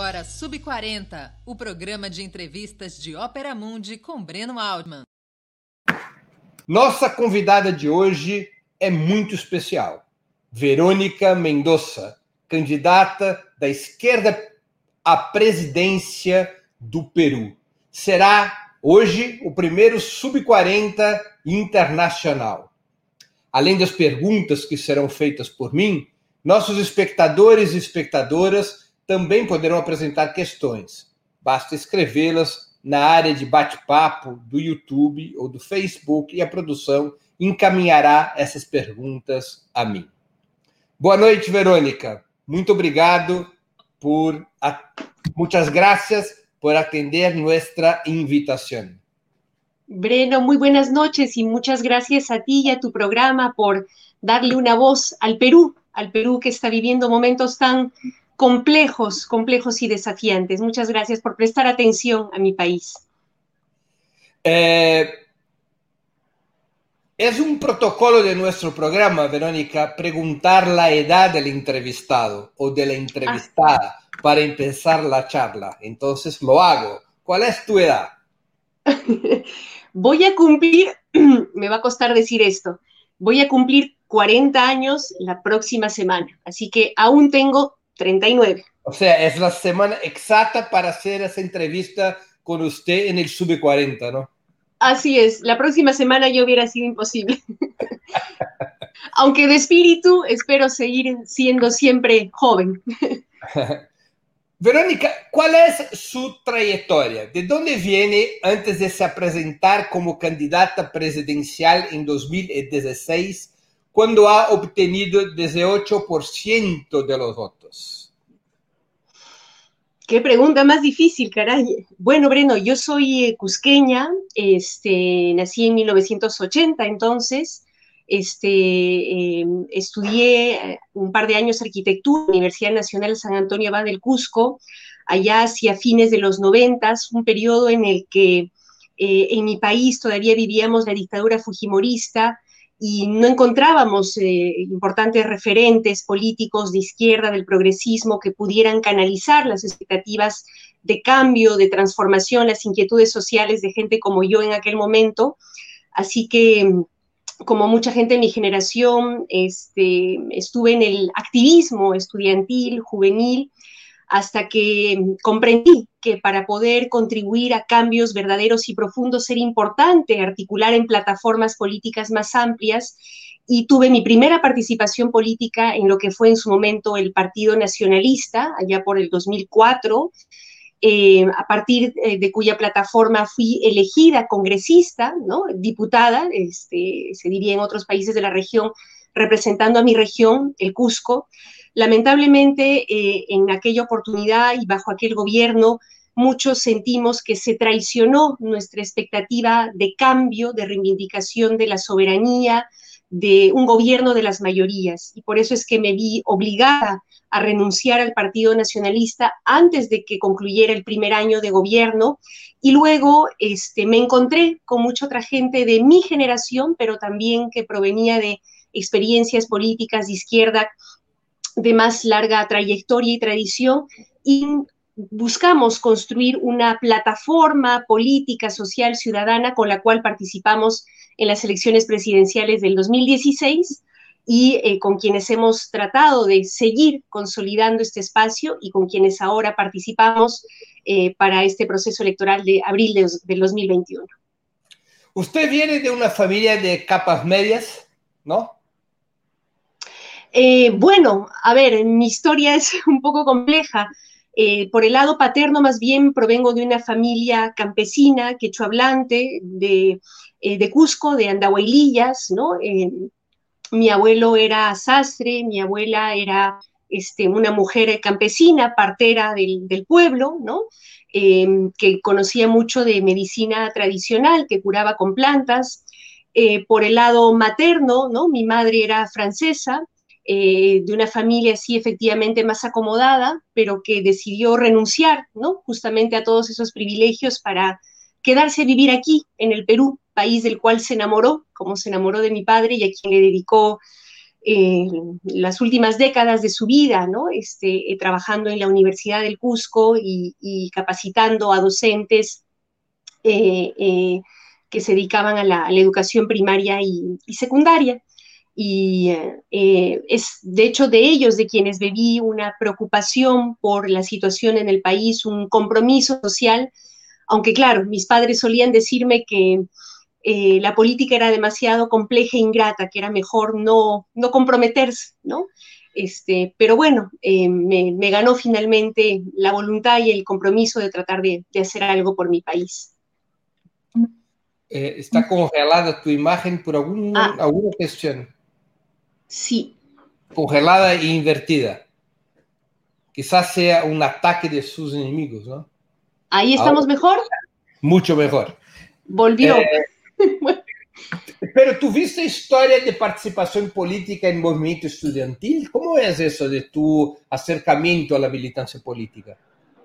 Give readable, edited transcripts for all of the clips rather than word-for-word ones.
agora Sub40, o programa de entrevistas de Ópera Mundi com Breno Altman. Nossa convidada de hoje é muito especial. Verônica Mendoza, candidata da esquerda à presidência do Peru. Será hoje o primeiro Sub40 internacional. Além das perguntas que serão feitas por mim, nossos espectadores e espectadoras também poderão apresentar questões. Basta escrevê-las na área de bate-papo do YouTube ou do Facebook e a produção encaminhará essas perguntas a mim. Boa noite, Verônica. Muito obrigado muchas gracias por atender nuestra invitación. Breno, muy buenas noches y muchas gracias a ti y a tu programa por darle una voz al Perú que está viviendo momentos tan complejos y desafiantes. Muchas gracias por prestar atención a mi país. Es un protocolo de nuestro programa, Verónica, preguntar la edad del entrevistado o de la entrevistada para empezar la charla. Entonces lo hago. ¿Cuál es tu edad? Voy a cumplir, me va a costar decir esto, voy a cumplir 40 años la próxima semana, así que aún tengo 39. O sea, es la semana exacta para hacer esa entrevista con usted en el Sub40, ¿no? Así es, la próxima semana ya hubiera sido imposible. Aunque de espíritu espero seguir siendo siempre joven. Verónica, ¿cuál es su trayectoria? ¿De dónde viene antes de se presentar como candidata presidencial en 2016, cuando ha obtenido 18% de los votos? Qué pregunta más difícil, caray. Bueno, Breno, yo soy cusqueña, nací en 1980, entonces estudié un par de años arquitectura en la Universidad Nacional San Antonio Abad del Cusco, allá hacia fines de los 90, un periodo en el que en mi país todavía vivíamos la dictadura fujimorista y no encontrábamos importantes referentes políticos de izquierda, del progresismo, que pudieran canalizar las expectativas de cambio, de transformación, las inquietudes sociales de gente como yo en aquel momento. Así que, como mucha gente de mi generación, estuve en el activismo estudiantil, juvenil, hasta que comprendí que para poder contribuir a cambios verdaderos y profundos era importante articular en plataformas políticas más amplias, y tuve mi primera participación política en lo que fue en su momento el Partido Nacionalista, allá por el 2004, a partir de cuya plataforma fui elegida congresista, ¿no? Diputada, se diría en otros países de la región, representando a mi región, el Cusco. Lamentablemente, en aquella oportunidad y bajo aquel gobierno, muchos sentimos que se traicionó nuestra expectativa de cambio, de reivindicación de la soberanía, de un gobierno de las mayorías. Y por eso es que me vi obligada a renunciar al Partido Nacionalista antes de que concluyera el primer año de gobierno, y luego me encontré con mucha otra gente de mi generación, pero también que provenía de experiencias políticas de izquierda de más larga trayectoria y tradición, y buscamos construir una plataforma política, social, ciudadana con la cual participamos en las elecciones presidenciales del 2016 y con quienes hemos tratado de seguir consolidando este espacio y con quienes ahora participamos para este proceso electoral de abril del 2021. Usted viene de una familia de capas medias, ¿no? Bueno, a ver, mi historia es un poco compleja. Por el lado paterno, más bien, provengo de una familia campesina, quechohablante, de Cusco, de Andahuaylillas, ¿no? Mi abuelo era sastre, mi abuela era una mujer campesina, partera del pueblo, ¿no? Que conocía mucho de medicina tradicional, que curaba con plantas. Por el lado materno, ¿no? Mi madre era francesa, de una familia así efectivamente más acomodada, pero que decidió renunciar, ¿no? Justamente a todos esos privilegios para quedarse a vivir aquí, en el Perú, país del cual se enamoró, como se enamoró de mi padre y a quien le dedicó eh, las últimas décadas de su vida, ¿no? Trabajando en la Universidad del Cusco y capacitando a docentes que se dedicaban a la educación primaria y secundaria. Y es de hecho de ellos de quienes bebí una preocupación por la situación en el país, un compromiso social, aunque claro, mis padres solían decirme que la política era demasiado compleja e ingrata, que era mejor no comprometerse, ¿no? Pero bueno, me ganó finalmente la voluntad y el compromiso de tratar de hacer algo por mi país. Está congelada tu imagen por alguna cuestión. Sí. Congelada e invertida. Quizás sea un ataque de sus enemigos, ¿no? ¿Ahí estamos ahora mejor? Mucho mejor. Volvió. Pero ¿tú viste historia de participación política en movimiento estudiantil? ¿Cómo es eso de tu acercamiento a la militancia política?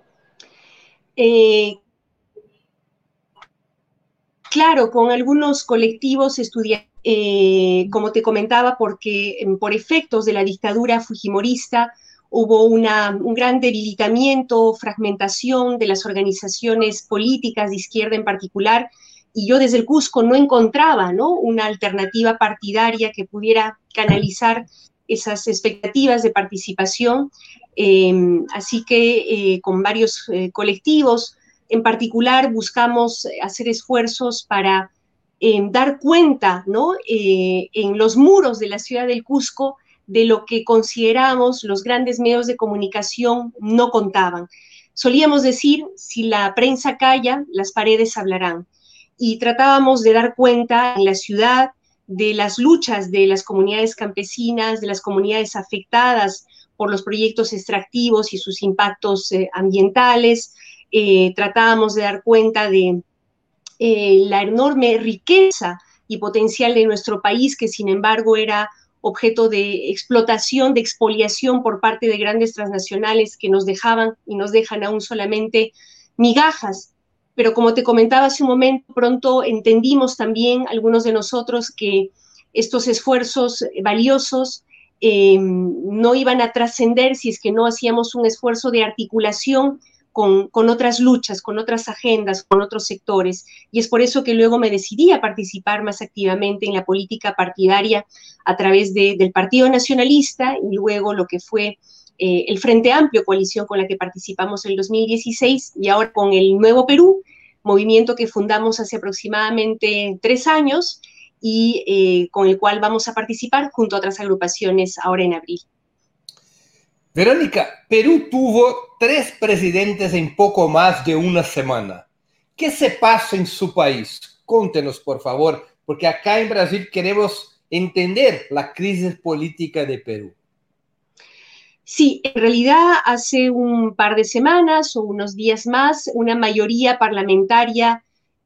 Claro, con algunos colectivos estudiantiles, como te comentaba, porque por efectos de la dictadura fujimorista hubo un gran debilitamiento, fragmentación de las organizaciones políticas de izquierda en particular, y yo desde el Cusco no encontraba, ¿no?, una alternativa partidaria que pudiera canalizar esas expectativas de participación, así que con varios colectivos en particular buscamos hacer esfuerzos para dar cuenta, ¿no?, en los muros de la ciudad del Cusco de lo que consideramos los grandes medios de comunicación no contaban. Solíamos decir, si la prensa calla, las paredes hablarán. Y tratábamos de dar cuenta en la ciudad de las luchas de las comunidades campesinas, de las comunidades afectadas por los proyectos extractivos y sus impactos ambientales. Tratábamos de dar cuenta de la enorme riqueza y potencial de nuestro país, que sin embargo era objeto de explotación, de expoliación por parte de grandes transnacionales que nos dejaban y nos dejan aún solamente migajas. Pero como te comentaba hace un momento, pronto entendimos también algunos de nosotros que estos esfuerzos valiosos no iban a trascender si es que no hacíamos un esfuerzo de articulación con otras luchas, con otras agendas, con otros sectores. Y es por eso que luego me decidí a participar más activamente en la política partidaria a través del Partido Nacionalista y luego lo que fue el Frente Amplio, coalición con la que participamos en el 2016, y ahora con el Nuevo Perú, movimiento que fundamos hace aproximadamente 3 años y con el cual vamos a participar junto a otras agrupaciones ahora en abril. Verónica, Perú tuvo 3 presidentes en poco más de una semana. ¿Qué se pasa en su país? Contenos, por favor, porque acá en Brasil queremos entender la crisis política de Perú. Sí, en realidad hace un par de semanas o unos días más, una mayoría parlamentaria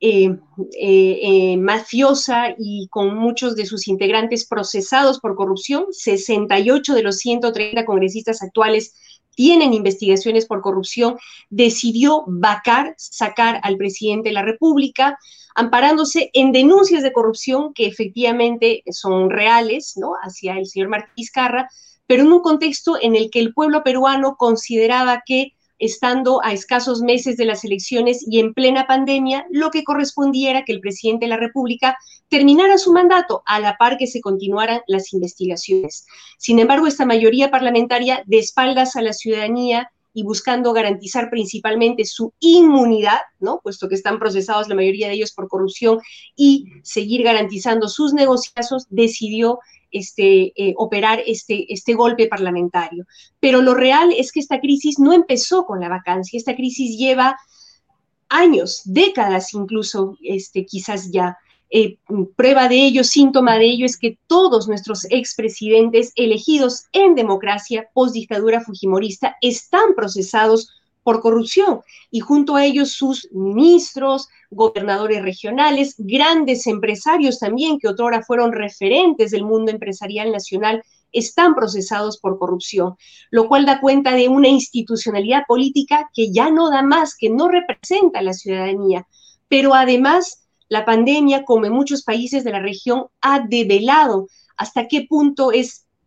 mafiosa y con muchos de sus integrantes procesados por corrupción, 68 de los 130 congresistas actuales tienen investigaciones por corrupción, decidió sacar al presidente de la República, amparándose en denuncias de corrupción que efectivamente son reales, ¿no?, hacia el señor Martí Vizcarra, pero en un contexto en el que el pueblo peruano consideraba que, estando a escasos meses de las elecciones y en plena pandemia, lo que correspondía era que el presidente de la República terminara su mandato a la par que se continuaran las investigaciones. Sin embargo, esta mayoría parlamentaria, de espaldas a la ciudadanía y buscando garantizar principalmente su inmunidad, ¿no?, puesto que están procesados la mayoría de ellos por corrupción, y seguir garantizando sus negociazos, decidió operar este golpe parlamentario. Pero lo real es que esta crisis no empezó con la vacancia, esta crisis lleva años, décadas incluso, quizás ya. Prueba de ello, síntoma de ello, es que todos nuestros expresidentes elegidos en democracia post-dictadura fujimorista están procesados por corrupción, y junto a ellos sus ministros, gobernadores regionales, grandes empresarios también, que otrora fueron referentes del mundo empresarial nacional, están procesados por corrupción, lo cual da cuenta de una institucionalidad política que ya no da más, que no representa a la ciudadanía. Pero además, la pandemia, como en muchos países de la región, ha develado hasta qué punto es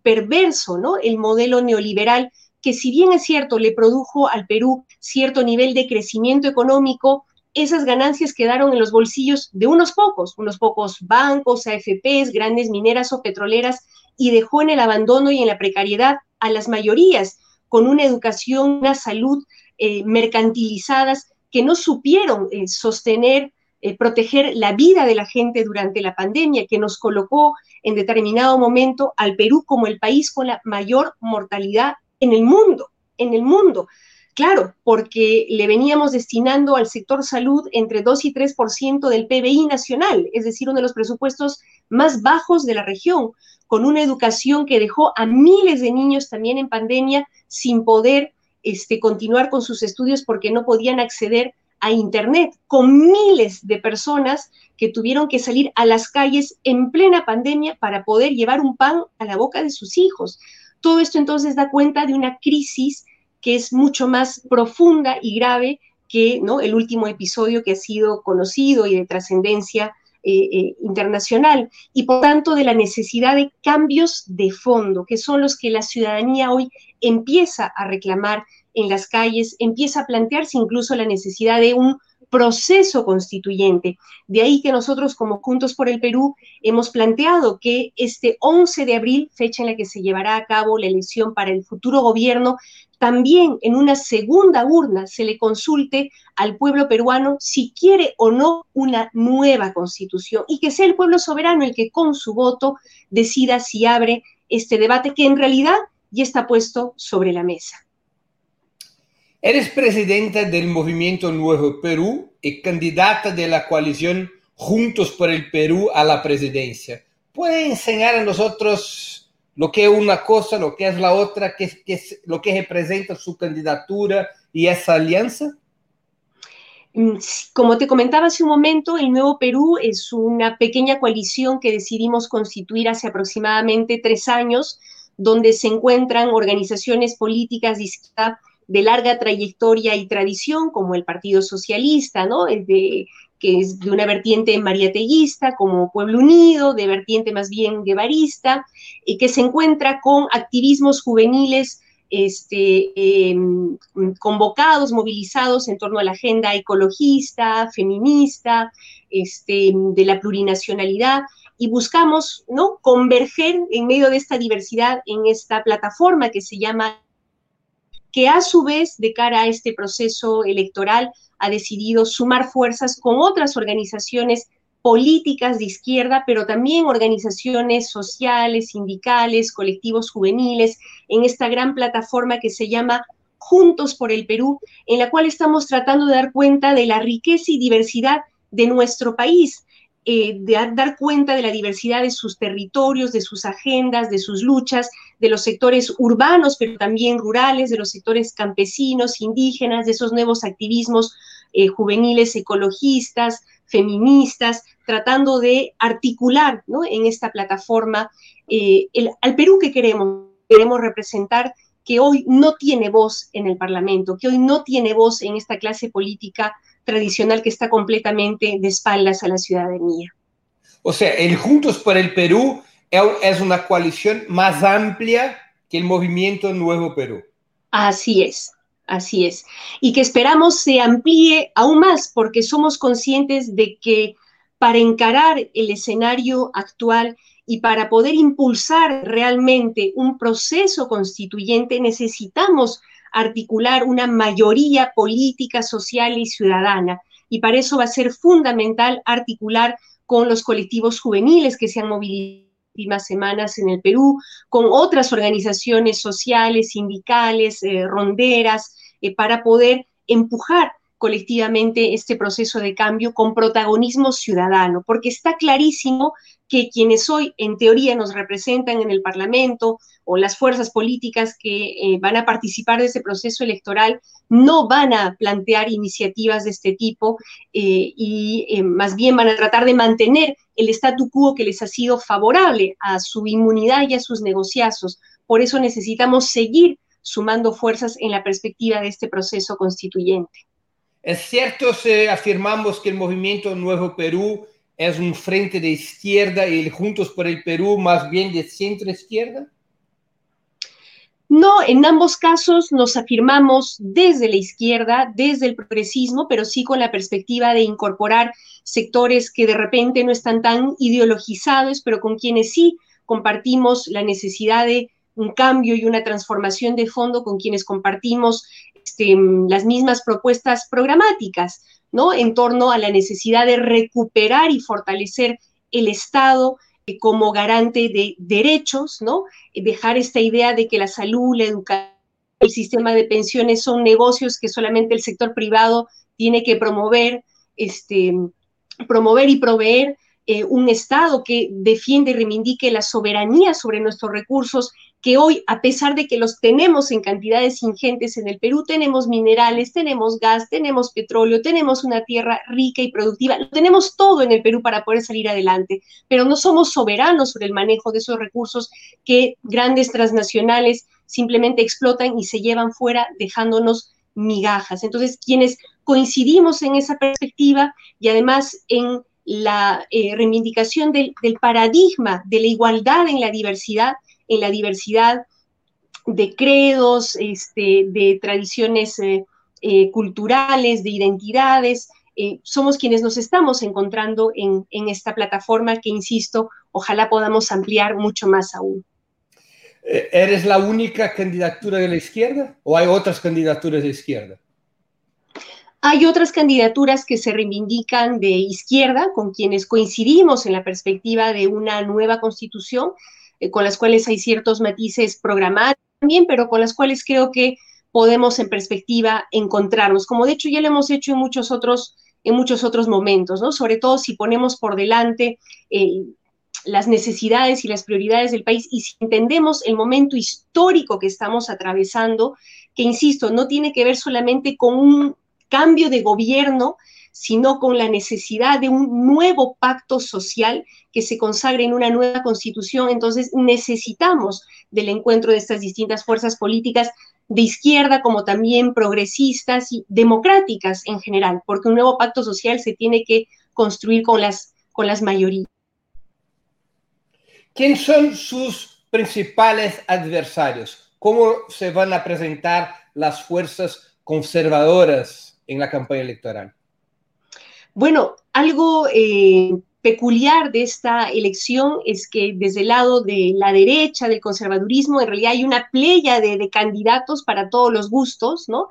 perverso, ¿no? El modelo neoliberal, que si bien es cierto, le produjo al Perú cierto nivel de crecimiento económico, esas ganancias quedaron en los bolsillos de unos pocos bancos, AFPs, grandes mineras o petroleras, y dejó en el abandono y en la precariedad a las mayorías, con una educación, una salud mercantilizadas que no supieron sostener, proteger la vida de la gente durante la pandemia, que nos colocó en determinado momento al Perú como el país con la mayor mortalidad en el mundo, en el mundo. Claro, porque le veníamos destinando al sector salud entre 2 y 3% del PBI nacional, es decir, uno de los presupuestos más bajos de la región, con una educación que dejó a miles de niños también en pandemia sin poder continuar con sus estudios porque no podían acceder a Internet, con miles de personas que tuvieron que salir a las calles en plena pandemia para poder llevar un pan a la boca de sus hijos. Todo esto entonces da cuenta de una crisis que es mucho más profunda y grave que, ¿no?, el último episodio que ha sido conocido y de trascendencia internacional, y por tanto de la necesidad de cambios de fondo, que son los que la ciudadanía hoy empieza a reclamar en las calles, empieza a plantearse incluso la necesidad de un proceso constituyente. De ahí que nosotros como Juntos por el Perú hemos planteado que este 11 de abril, fecha en la que se llevará a cabo la elección para el futuro gobierno, también en una segunda urna se le consulte al pueblo peruano si quiere o no una nueva constitución, y que sea el pueblo soberano el que con su voto decida si abre este debate que en realidad ya está puesto sobre la mesa. Eres presidenta del Movimiento Nuevo Perú y candidata de la coalición Juntos por el Perú a la presidencia. ¿Puede enseñar a nosotros lo que es una cosa, lo que es la otra, lo que representa su candidatura y esa alianza? Como te comentaba hace un momento, el Nuevo Perú es una pequeña coalición que decidimos constituir hace aproximadamente 3 años, donde se encuentran organizaciones políticas de larga trayectoria y tradición, como el Partido Socialista, ¿no?, que es de una vertiente mariateguista, como Pueblo Unido, de vertiente más bien guevarista, que se encuentra con activismos juveniles convocados, movilizados en torno a la agenda ecologista, feminista, de la plurinacionalidad, y buscamos, ¿no?, converger en medio de esta diversidad en esta plataforma que se llama, que a su vez, de cara a este proceso electoral, ha decidido sumar fuerzas con otras organizaciones políticas de izquierda, pero también organizaciones sociales, sindicales, colectivos juveniles, en esta gran plataforma que se llama Juntos por el Perú, en la cual estamos tratando de dar cuenta de la riqueza y diversidad de nuestro país, de dar cuenta de la diversidad de sus territorios, de sus agendas, de sus luchas, de los sectores urbanos, pero también rurales, de los sectores campesinos, indígenas, de esos nuevos activismos juveniles, ecologistas, feministas, tratando de articular, ¿no?, en esta plataforma al Perú que queremos representar, que hoy no tiene voz en el Parlamento, que hoy no tiene voz en esta clase política tradicional que está completamente de espaldas a la ciudadanía. O sea, el Juntos por el Perú es una coalición más amplia que el Movimiento Nuevo Perú. Así es. Así es. Y que esperamos se amplíe aún más, porque somos conscientes de que para encarar el escenario actual y para poder impulsar realmente un proceso constituyente necesitamos articular una mayoría política, social y ciudadana. Y para eso va a ser fundamental articular con los colectivos juveniles que se han movilizado últimas semanas en el Perú, con otras organizaciones sociales, sindicales, ronderas, para poder empujar colectivamente este proceso de cambio con protagonismo ciudadano, porque está clarísimo que quienes hoy en teoría nos representan en el Parlamento o las fuerzas políticas que van a participar de ese proceso electoral no van a plantear iniciativas de este tipo y más bien van a tratar de mantener el statu quo que les ha sido favorable a su inmunidad y a sus negociazos. Por eso necesitamos seguir sumando fuerzas en la perspectiva de este proceso constituyente. ¿Es cierto si afirmamos que el Movimiento Nuevo Perú es un frente de izquierda y el Juntos por el Perú más bien de centro izquierda? No, en ambos casos nos afirmamos desde la izquierda, desde el progresismo, pero sí con la perspectiva de incorporar sectores que de repente no están tan ideologizados, pero con quienes sí compartimos la necesidad de un cambio y una transformación de fondo, con quienes compartimos las mismas propuestas programáticas, ¿no? En torno a la necesidad de recuperar y fortalecer el Estado como garante de derechos, ¿no? Dejar esta idea de que la salud, la educación, el sistema de pensiones son negocios que solamente el sector privado tiene que promover, promover y proveer un Estado que defiende y reivindique la soberanía sobre nuestros recursos, que hoy, a pesar de que los tenemos en cantidades ingentes en el Perú, tenemos minerales, tenemos gas, tenemos petróleo, tenemos una tierra rica y productiva, lo tenemos todo en el Perú para poder salir adelante, pero no somos soberanos sobre el manejo de esos recursos que grandes transnacionales simplemente explotan y se llevan fuera dejándonos migajas. Entonces, quienes coincidimos en esa perspectiva y además en la reivindicación del paradigma de la igualdad en la diversidad de credos, de tradiciones culturales, de identidades. Somos quienes nos estamos encontrando en esta plataforma que, insisto, ojalá podamos ampliar mucho más aún. ¿Eres la única candidatura de la izquierda o hay otras candidaturas de izquierda? Hay otras candidaturas que se reivindican de izquierda, con quienes coincidimos en la perspectiva de una nueva constitución, con las cuales hay ciertos matices programáticos también, pero con las cuales creo que podemos en perspectiva encontrarnos, como de hecho ya lo hemos hecho en muchos otros momentos, ¿no? Sobre todo si ponemos por delante las necesidades y las prioridades del país y si entendemos el momento histórico que estamos atravesando, que insisto, no tiene que ver solamente con un cambio de gobierno, sino con la necesidad de un nuevo pacto social que se consagre en una nueva constitución. Entonces necesitamos del encuentro de estas distintas fuerzas políticas de izquierda como también progresistas y democráticas en general, porque un nuevo pacto social se tiene que construir con las mayorías. ¿Quiénes son sus principales adversarios? ¿Cómo se van a presentar las fuerzas conservadoras en la campaña electoral? Bueno, algo peculiar de esta elección es que desde el lado de la derecha, del conservadurismo, en realidad hay una playa de candidatos para todos los gustos, ¿no?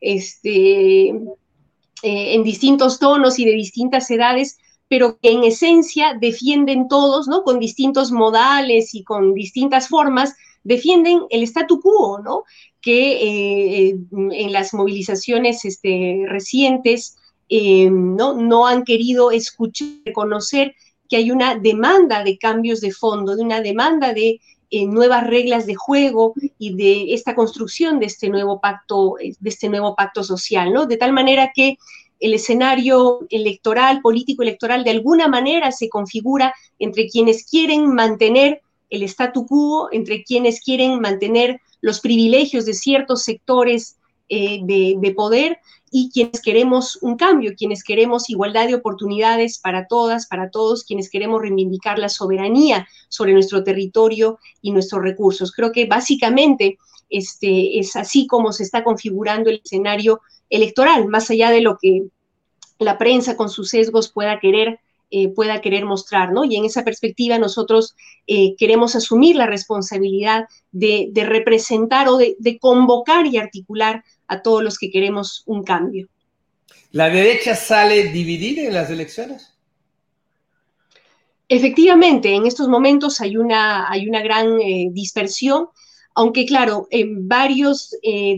En distintos tonos y de distintas edades, pero que en esencia defienden todos, ¿no? Con distintos modales y con distintas formas, defienden el statu quo, ¿no? Que en las movilizaciones recientes no han querido escuchar, reconocer que hay una demanda de cambios de fondo, de una demanda de nuevas reglas de juego y de esta construcción de este nuevo pacto social, ¿no? De tal manera que el escenario electoral, político electoral, de alguna manera se configura entre quienes quieren mantener el statu quo, entre quienes quieren mantener los privilegios de ciertos sectores de poder y quienes queremos un cambio, quienes queremos igualdad de oportunidades para todas, para todos, quienes queremos reivindicar la soberanía sobre nuestro territorio y nuestros recursos. Creo que básicamente es así como se está configurando el escenario electoral, más allá de lo que la prensa con sus sesgos pueda querer mostrar, ¿no? Y en esa perspectiva nosotros queremos asumir la responsabilidad de representar o de convocar y articular a todos los que queremos un cambio. ¿La derecha sale dividida en las elecciones? Efectivamente, en estos momentos hay una gran dispersión, aunque claro, en varios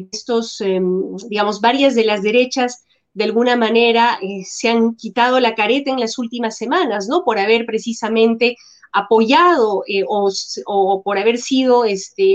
varias de las derechas de alguna manera se han quitado la careta en las últimas semanas, ¿no? Por haber precisamente apoyado o por haber sido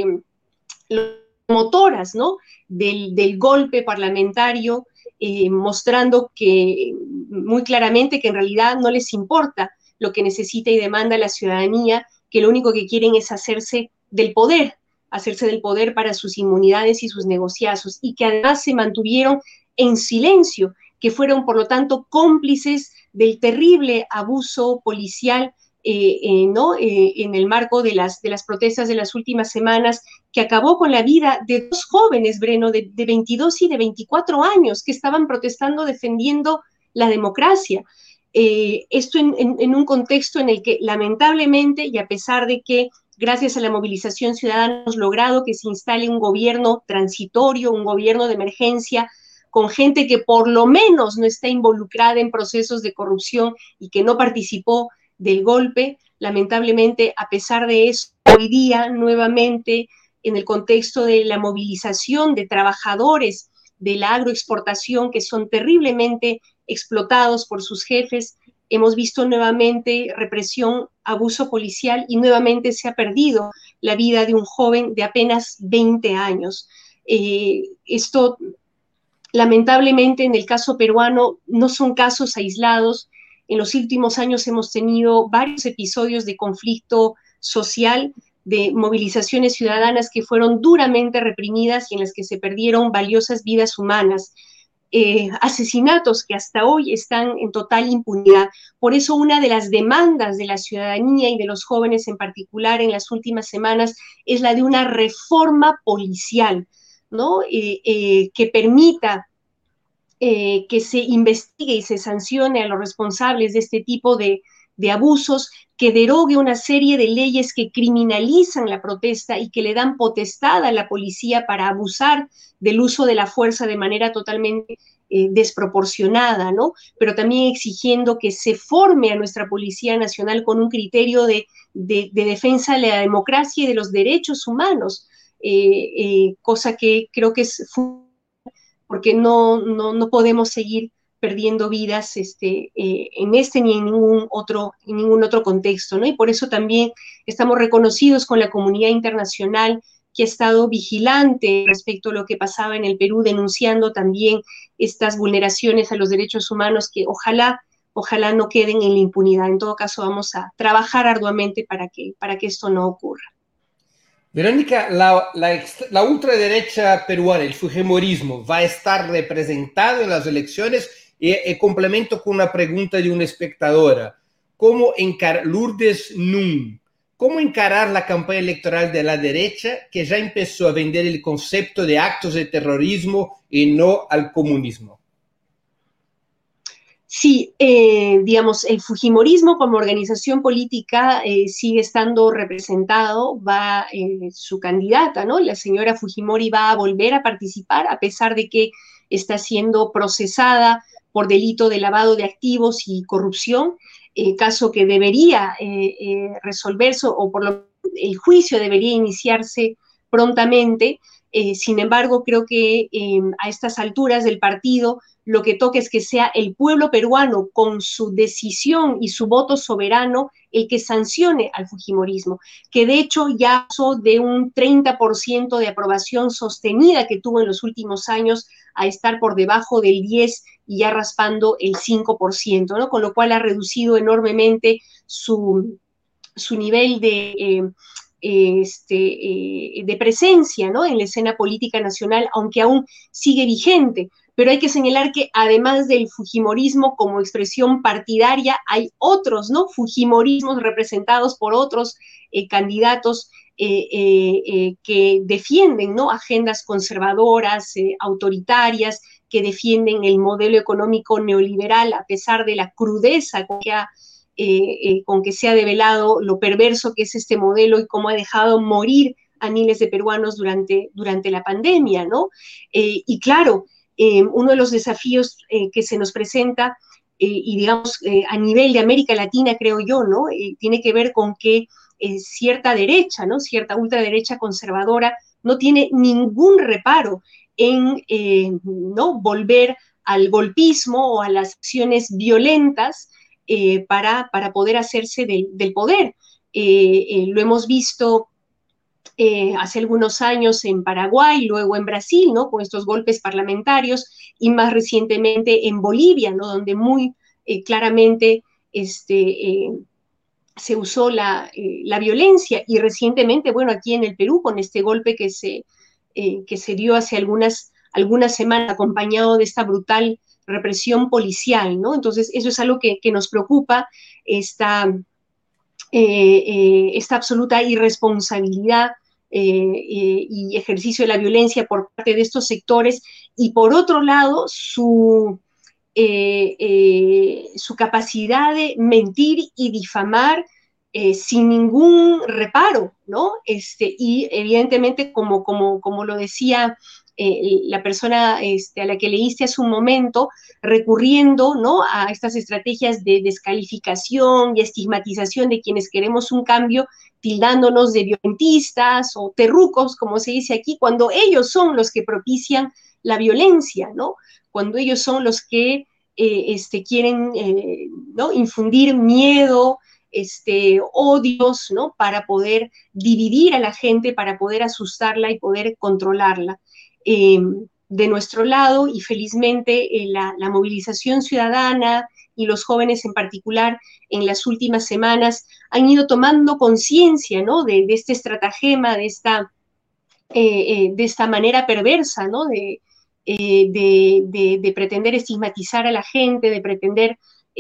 motoras, ¿no? Del golpe parlamentario, mostrando que muy claramente que en realidad no les importa lo que necesita y demanda la ciudadanía, que lo único que quieren es hacerse del poder para sus inmunidades y sus negociazos, y que además se mantuvieron en silencio, que fueron por lo tanto cómplices del terrible abuso policial ¿no? En el marco de las protestas de las últimas semanas, que acabó con la vida de dos jóvenes, Breno, de 22 y de 24 años, que estaban protestando defendiendo la democracia. Esto en un contexto en el que lamentablemente, y a pesar de que gracias a la movilización ciudadana hemos logrado que se instale un gobierno transitorio, un gobierno de emergencia, con gente que por lo menos no está involucrada en procesos de corrupción y que no participó del golpe, lamentablemente, a pesar de eso, hoy día nuevamente en el contexto de la movilización de trabajadores de la agroexportación que son terriblemente explotados por sus jefes, hemos visto nuevamente represión, abuso policial y nuevamente se ha perdido la vida de un joven de apenas 20 años. Esto, lamentablemente, en el caso peruano, no son casos aislados. En los últimos años hemos tenido varios episodios de conflicto social, de movilizaciones ciudadanas que fueron duramente reprimidas y en las que se perdieron valiosas vidas humanas. Asesinatos que hasta hoy están en total impunidad. Por eso una de las demandas de la ciudadanía y de los jóvenes en particular en las últimas semanas es la de una reforma policial, ¿no? Que permita que se investigue y se sancione a los responsables de este tipo de abusos, que derogue una serie de leyes que criminalizan la protesta y que le dan potestad a la policía para abusar del uso de la fuerza de manera totalmente desproporcionada, ¿no? Pero también exigiendo que se forme a nuestra Policía Nacional con un criterio de defensa de la democracia y de los derechos humanos, cosa que creo que es porque no podemos seguir perdiendo vidas en este ni en ningún otro contexto, ¿no? Y por eso también estamos reconocidos con la comunidad internacional que ha estado vigilante respecto a lo que pasaba en el Perú, denunciando también estas vulneraciones a los derechos humanos que ojalá no queden en la impunidad. En todo caso, vamos a trabajar arduamente para que esto no ocurra. Verónica, la ultraderecha peruana, el fujimorismo, va a estar representado en las elecciones y complemento con una pregunta de una espectadora. Lourdes Nun, ¿cómo encarar la campaña electoral de la derecha que ya empezó a vender el concepto de actos de terrorismo y no al comunismo? Sí, digamos, el fujimorismo como organización política sigue estando representado, va su candidata, ¿no? La señora Fujimori va a volver a participar a pesar de que está siendo procesada por delito de lavado de activos y corrupción, caso que debería resolverse o por lo el juicio debería iniciarse prontamente. Sin embargo, creo que a estas alturas del partido lo que toca es que sea el pueblo peruano con su decisión y su voto soberano el que sancione al fujimorismo, que de hecho ya pasó de un 30% de aprobación sostenida que tuvo en los últimos años a estar por debajo del 10% y ya raspando el 5%, ¿no? Con lo cual ha reducido enormemente su nivel de presencia, ¿no? En la escena política nacional, aunque aún sigue vigente. Pero hay que señalar que además del fujimorismo como expresión partidaria, hay otros, ¿no? Fujimorismos representados por otros candidatos que defienden, ¿no? Agendas conservadoras, autoritarias, que defienden el modelo económico neoliberal a pesar de la crudeza con que se ha develado lo perverso que es este modelo y cómo ha dejado morir a miles de peruanos durante la pandemia, ¿no? Y claro, uno de los desafíos que se nos presenta, y digamos a nivel de América Latina, creo yo, ¿no? Tiene que ver con que cierta derecha, ¿no? Cierta ultraderecha conservadora no tiene ningún reparo en ¿no? volver al golpismo o a las acciones violentas para poder hacerse del poder. Lo hemos visto hace algunos años en Paraguay, luego en Brasil, ¿no? Con estos golpes parlamentarios, y más recientemente en Bolivia, ¿no? Donde muy claramente se usó la violencia, y recientemente, bueno, aquí en el Perú, con este golpe que se dio hace algunas semanas, acompañado de esta brutal represión policial, ¿no? Entonces, eso es algo que nos preocupa, esta esta absoluta irresponsabilidad y ejercicio de la violencia por parte de estos sectores, y por otro lado su capacidad de mentir y difamar sin ningún reparo, ¿no? Y evidentemente, como lo decía la persona a la que leíste hace un momento, recurriendo, ¿no?, a estas estrategias de descalificación y estigmatización de quienes queremos un cambio, tildándonos de violentistas o terrucos, como se dice aquí, cuando ellos son los que propician la violencia, ¿no? Cuando ellos son los que quieren ¿no?, infundir miedo, odios, ¿no?, para poder dividir a la gente, para poder asustarla y poder controlarla. De nuestro lado, y felizmente la movilización ciudadana y los jóvenes en particular en las últimas semanas han ido tomando conciencia, ¿no?, de este estratagema, de esta manera perversa, ¿no?, de pretender estigmatizar a la gente, de pretender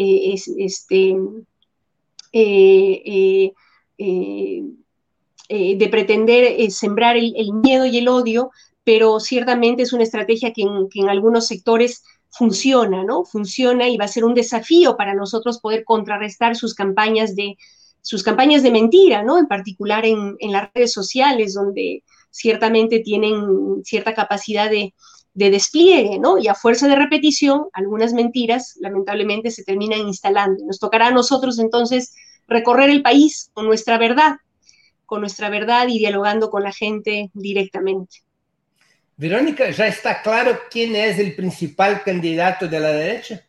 de pretender sembrar el miedo y el odio, pero ciertamente es una estrategia que en algunos sectores funciona, ¿no? Funciona, y va a ser un desafío para nosotros poder contrarrestar sus campañas de mentira, ¿no? En particular en las redes sociales, donde ciertamente tienen cierta capacidad de despliegue, ¿no? Y a fuerza de repetición, algunas mentiras lamentablemente se terminan instalando. Nos tocará a nosotros entonces recorrer el país con nuestra verdad y dialogando con la gente directamente. Verónica, ¿ya está claro quién es el principal candidato de la derecha?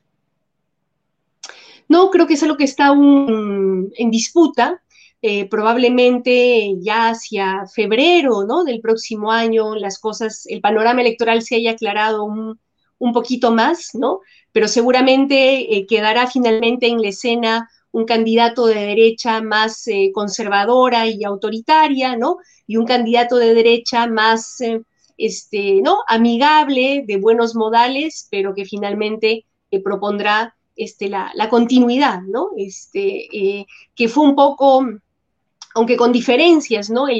No, creo que es algo que está aún en disputa. Probablemente ya hacia febrero, ¿no?, del próximo año el panorama electoral se haya aclarado un poquito más, ¿no? Pero seguramente quedará finalmente en la escena un candidato de derecha más conservadora y autoritaria, ¿no? Y un candidato de derecha más, ¿no?, amigable, de buenos modales, pero que finalmente propondrá la continuidad, ¿no? Que fue un poco, aunque con diferencias, ¿no?,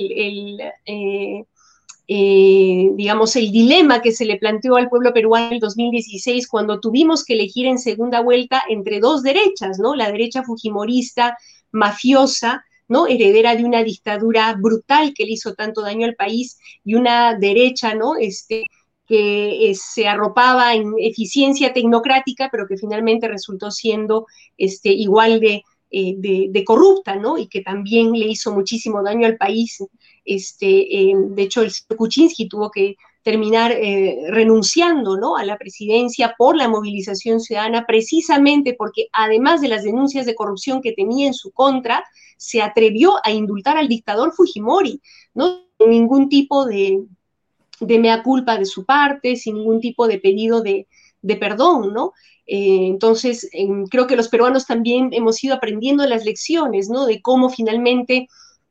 digamos, el dilema que se le planteó al pueblo peruano en el 2016, cuando tuvimos que elegir en segunda vuelta entre dos derechas, ¿no? La derecha fujimorista, mafiosa, ¿no?, heredera de una dictadura brutal que le hizo tanto daño al país, y una derecha, ¿no?, que se arropaba en eficiencia tecnocrática, pero que finalmente resultó siendo igual de corrupta, ¿no?, y que también le hizo muchísimo daño al país. De hecho, el señor Kuczynski tuvo que terminar renunciando, ¿no?, a la presidencia por la movilización ciudadana, precisamente porque, además de las denuncias de corrupción que tenía en su contra, se atrevió a indultar al dictador Fujimori, ¿no?, sin ningún tipo de mea culpa de su parte, sin ningún tipo de pedido de perdón, ¿no? Entonces, creo que los peruanos también hemos ido aprendiendo las lecciones, ¿no?, de cómo finalmente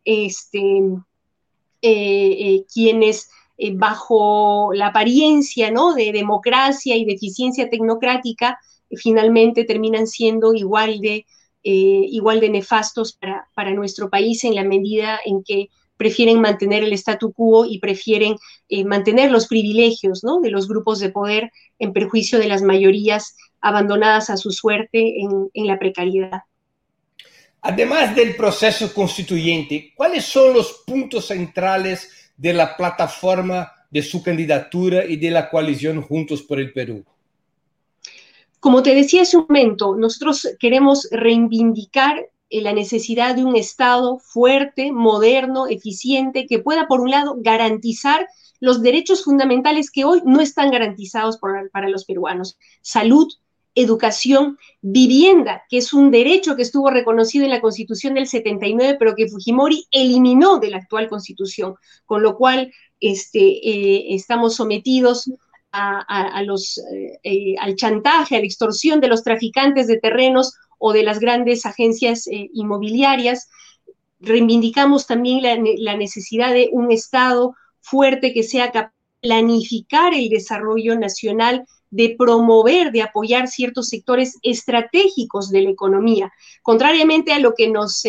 quienes bajo la apariencia, ¿no?, de democracia y de eficiencia tecnocrática, finalmente terminan siendo igual de nefastos para nuestro país, en la medida en que prefieren mantener el statu quo y prefieren mantener los privilegios, ¿no?, de los grupos de poder en perjuicio de las mayorías abandonadas a su suerte en la precariedad. Además del proceso constituyente, ¿cuáles son los puntos centrales de la plataforma de su candidatura y de la coalición Juntos por el Perú? Como te decía hace un momento, nosotros queremos reivindicar la necesidad de un Estado fuerte, moderno, eficiente, que pueda, por un lado, garantizar los derechos fundamentales que hoy no están garantizados para los peruanos: salud, educación, vivienda, que es un derecho que estuvo reconocido en la Constitución del 79, pero que Fujimori eliminó de la actual Constitución, con lo cual estamos sometidos al chantaje, a la extorsión de los traficantes de terrenos o de las grandes agencias inmobiliarias. Reivindicamos también la necesidad de un Estado fuerte que sea capaz de planificar el desarrollo nacional de promover, de apoyar ciertos sectores estratégicos de la economía, contrariamente a lo que nos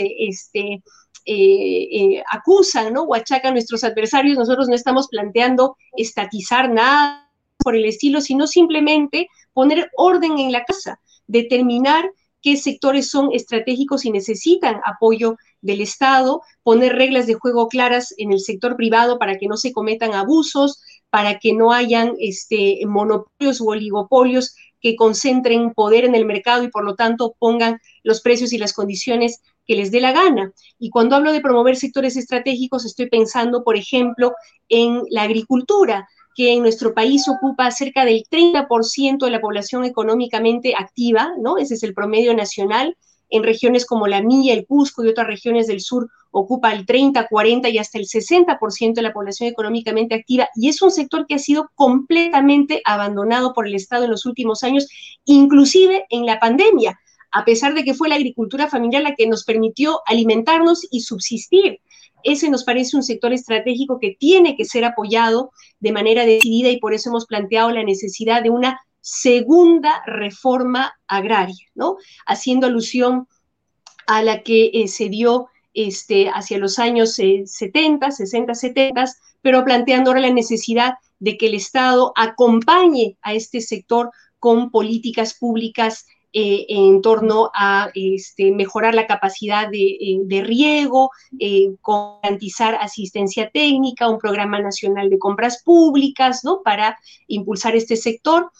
acusan, ¿no? O achacan nuestros adversarios. Nosotros no estamos planteando estatizar nada por el estilo, sino simplemente poner orden en la casa, determinar qué sectores son estratégicos y necesitan apoyo del Estado, poner reglas de juego claras en el sector privado para que no se cometan abusos, para que no hayan monopolios u oligopolios que concentren poder en el mercado y por lo tanto pongan los precios y las condiciones que les dé la gana. Y cuando hablo de promover sectores estratégicos, estoy pensando, por ejemplo, en la agricultura, que en nuestro país ocupa cerca del 30% de la población económicamente activa, ¿no? Ese es el promedio nacional. En regiones como la mía, el Cusco y otras regiones del sur ocupa el 30, 40 y hasta el 60% de la población económicamente activa, y es un sector que ha sido completamente abandonado por el Estado en los últimos años, inclusive en la pandemia, a pesar de que fue la agricultura familiar la que nos permitió alimentarnos y subsistir. Ese nos parece un sector estratégico que tiene que ser apoyado de manera decidida, y por eso hemos planteado la necesidad de una segunda reforma agraria, ¿no? Haciendo alusión a la que se dio hacia los años 70, 60, 70, pero planteando ahora la necesidad de que el Estado acompañe a este sector con políticas públicas en torno a mejorar la capacidad de riego, garantizar asistencia técnica, un programa nacional de compras públicas, ¿no? Para impulsar este sector.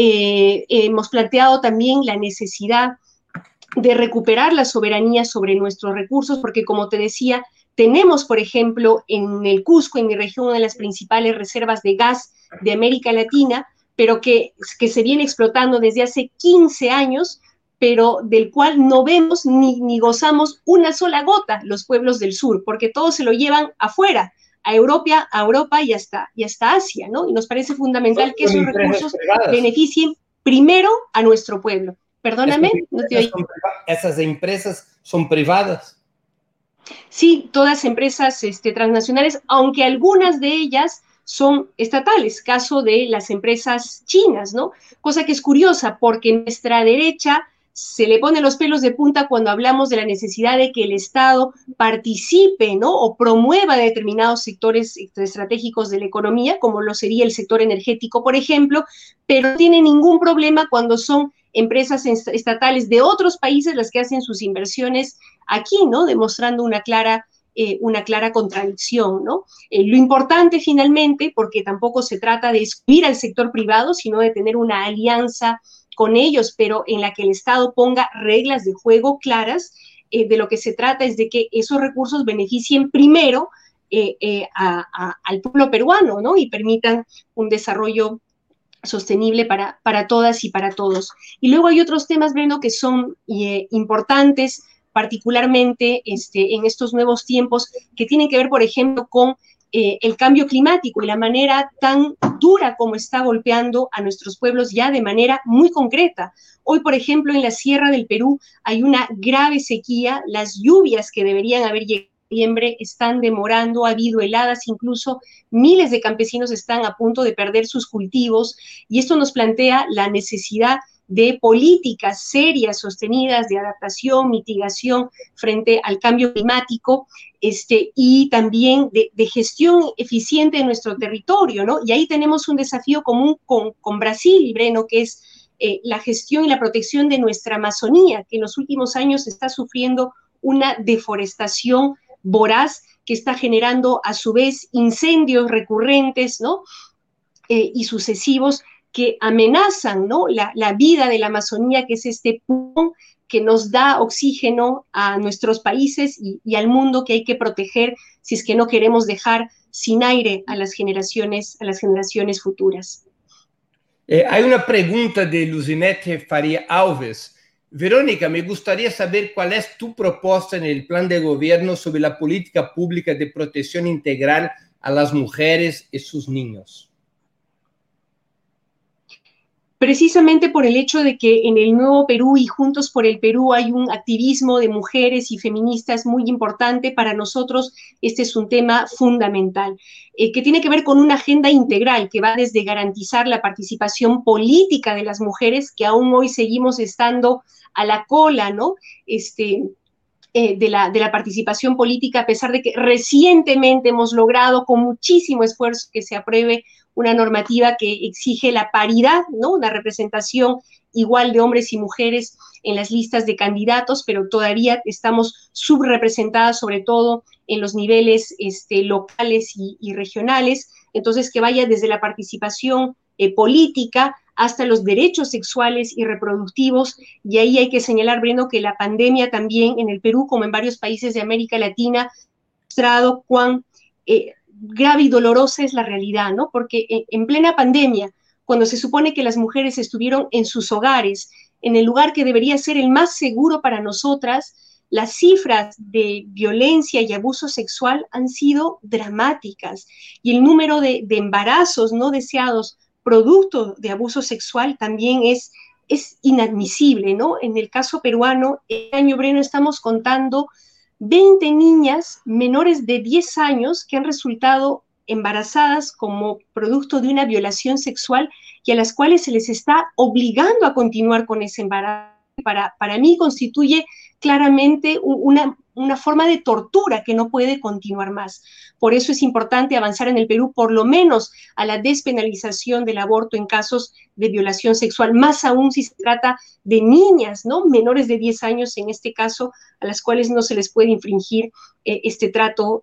Hemos planteado también la necesidad de recuperar la soberanía sobre nuestros recursos, porque como te decía, tenemos, por ejemplo, en el Cusco, en mi región, una de las principales reservas de gas de América Latina, pero que se viene explotando desde hace 15 años, pero del cual no vemos ni gozamos una sola gota los pueblos del sur, porque todo se lo llevan afuera, a Europa y hasta Asia, ¿no? Y nos parece fundamental que esos recursos beneficien primero a nuestro pueblo. Perdóname, no te oí. ¿Esas empresas son privadas? Sí, todas empresas transnacionales, aunque algunas de ellas son estatales, caso de las empresas chinas, ¿no? Cosa que es curiosa, porque nuestra derecha se le pone los pelos de punta cuando hablamos de la necesidad de que el Estado participe, ¿no? O promueva determinados sectores estratégicos de la economía, como lo sería el sector energético, por ejemplo, pero no tiene ningún problema cuando son empresas estatales de otros países las que hacen sus inversiones aquí, ¿no? Demostrando una clara contradicción, ¿no? Lo importante finalmente, porque tampoco se trata de excluir al sector privado, sino de tener una alianza con ellos, pero en la que el Estado ponga reglas de juego claras. De lo que se trata es de que esos recursos beneficien primero al pueblo peruano, ¿no? Y permitan un desarrollo sostenible para todas y para todos. Y luego hay otros temas, Breno, que son importantes, particularmente en estos nuevos tiempos, que tienen que ver, por ejemplo, con el cambio climático y la manera tan dura como está golpeando a nuestros pueblos ya de manera muy concreta. Hoy, por ejemplo, en la Sierra del Perú hay una grave sequía, las lluvias que deberían haber llegado en noviembre están demorando, ha habido heladas, incluso miles de campesinos están a punto de perder sus cultivos, y esto nos plantea la necesidad de políticas serias, sostenidas, de adaptación, mitigación frente al cambio climático, y también de gestión eficiente de nuestro territorio, ¿no? Y ahí tenemos un desafío común con Brasil, Breno, que es la gestión y la protección de nuestra Amazonía, que en los últimos años está sufriendo una deforestación voraz que está generando a su vez incendios recurrentes, ¿no? Y sucesivos que amenazan, ¿no? la vida de la Amazonía, que es este pulmón que nos da oxígeno a nuestros países y al mundo, que hay que proteger si es que no queremos dejar sin aire a las generaciones futuras. Hay una pregunta de Luzinete Faria Alves. Verónica, me gustaría saber cuál es tu propuesta en el plan de gobierno sobre la política pública de protección integral a las mujeres y sus niños. precisamente por el hecho de que en el Nuevo Perú y Juntos por el Perú hay un activismo de mujeres y feministas muy importante. Para nosotros este es un tema fundamental, que tiene que ver con una agenda integral que va desde garantizar la participación política de las mujeres, que aún hoy seguimos estando a la cola, ¿no? De la participación política, a pesar de que recientemente hemos logrado con muchísimo esfuerzo que se apruebe una normativa que exige la paridad, ¿no? Una representación igual de hombres y mujeres en las listas de candidatos, pero todavía estamos subrepresentadas, sobre todo en los niveles locales y regionales. Entonces, que vaya desde la participación política hasta los derechos sexuales y reproductivos, y ahí hay que señalar, Breno, que la pandemia también en el Perú, como en varios países de América Latina, ha mostrado cuán grave y dolorosa es la realidad, ¿no? Porque en plena pandemia, cuando se supone que las mujeres estuvieron en sus hogares, en el lugar que debería ser el más seguro para nosotras, las cifras de violencia y abuso sexual han sido dramáticas, y el número de embarazos no deseados producto de abuso sexual también es inadmisible, ¿no? En el caso peruano, este año, Breno, estamos contando 20 niñas menores de 10 años que han resultado embarazadas como producto de una violación sexual y a las cuales se les está obligando a continuar con ese embarazo. Para mí constituye claramente una forma de tortura que no puede continuar más. Por eso es importante avanzar en el Perú, por lo menos a la despenalización del aborto en casos de violación sexual, más aún si se trata de niñas, ¿no? Menores de 10 años, en este caso, a las cuales no se les puede infringir este trato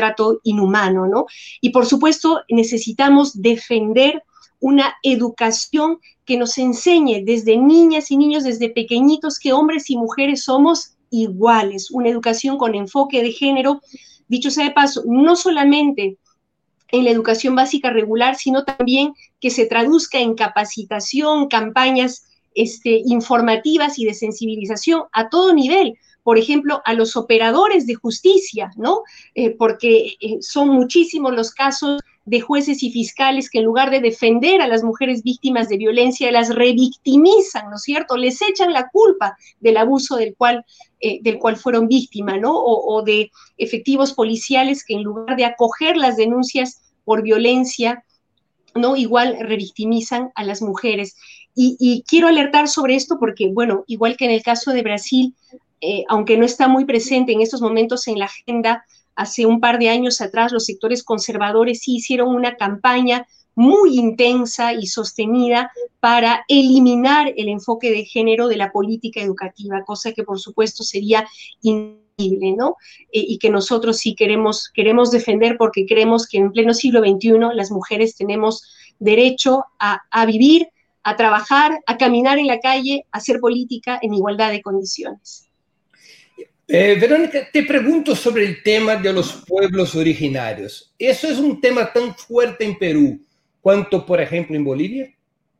inhumano, ¿no? Y por supuesto, necesitamos defender una educación que nos enseñe desde niñas y niños, desde pequeñitos, que hombres y mujeres somos iguales, una educación con enfoque de género, dicho sea de paso, no solamente en la educación básica regular, sino también que se traduzca en capacitación, campañas informativas y de sensibilización a todo nivel. Por ejemplo, a los operadores de justicia, ¿no? Porque son muchísimos los casos de jueces y fiscales que en lugar de defender a las mujeres víctimas de violencia, las revictimizan, ¿no es cierto? Les echan la culpa del abuso del cual fueron víctimas, ¿no? O de efectivos policiales que en lugar de acoger las denuncias por violencia, ¿no? Igual revictimizan a las mujeres. Y quiero alertar sobre esto porque, bueno, igual que en el caso de Brasil, aunque no está muy presente en estos momentos en la agenda, hace un par de años atrás los sectores conservadores sí hicieron una campaña muy intensa y sostenida para eliminar el enfoque de género de la política educativa, cosa que por supuesto sería increíble, ¿no? Y que nosotros sí queremos defender, porque creemos que en pleno siglo XXI las mujeres tenemos derecho a vivir, a trabajar, a caminar en la calle, a hacer política en igualdad de condiciones. Verónica, te pregunto sobre el tema de los pueblos originarios. ¿Eso es un tema tan fuerte en Perú cuanto, por ejemplo, en Bolivia?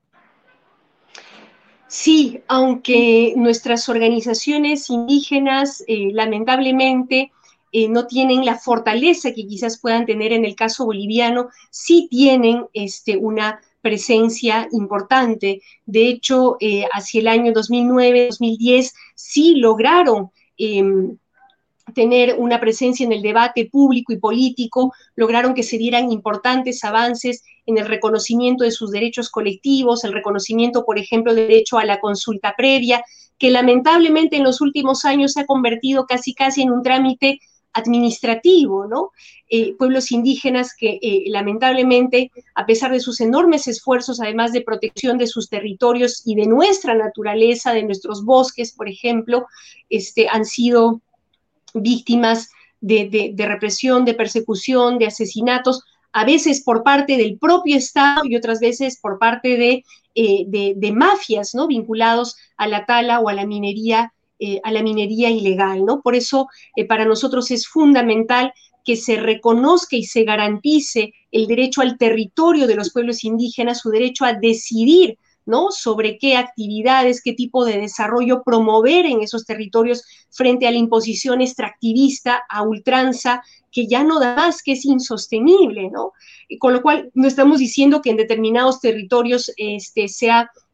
Sí, aunque nuestras organizaciones indígenas, lamentablemente, no tienen la fortaleza que quizás puedan tener en el caso boliviano, sí tienen una presencia importante. De hecho, hacia el año 2009-2010 sí lograron tener una presencia en el debate público y político, lograron que se dieran importantes avances en el reconocimiento de sus derechos colectivos, el reconocimiento, por ejemplo, del derecho a la consulta previa, que lamentablemente en los últimos años se ha convertido casi en un trámite administrativo, ¿no? Pueblos indígenas que lamentablemente, a pesar de sus enormes esfuerzos, además de protección de sus territorios y de nuestra naturaleza, de nuestros bosques, por ejemplo, han sido víctimas de represión, de persecución, de asesinatos, a veces por parte del propio Estado y otras veces por parte de mafias, ¿no? Vinculados a la tala o a la minería ilegal, ¿no? Por eso para nosotros es fundamental que se reconozca y se garantice el derecho al territorio de los pueblos indígenas, su derecho a decidir, ¿no? Sobre qué actividades, qué tipo de desarrollo promover en esos territorios frente a la imposición extractivista a ultranza, que ya no da más, que es insostenible, ¿no? Con lo cual, no estamos diciendo que en determinados territorios sea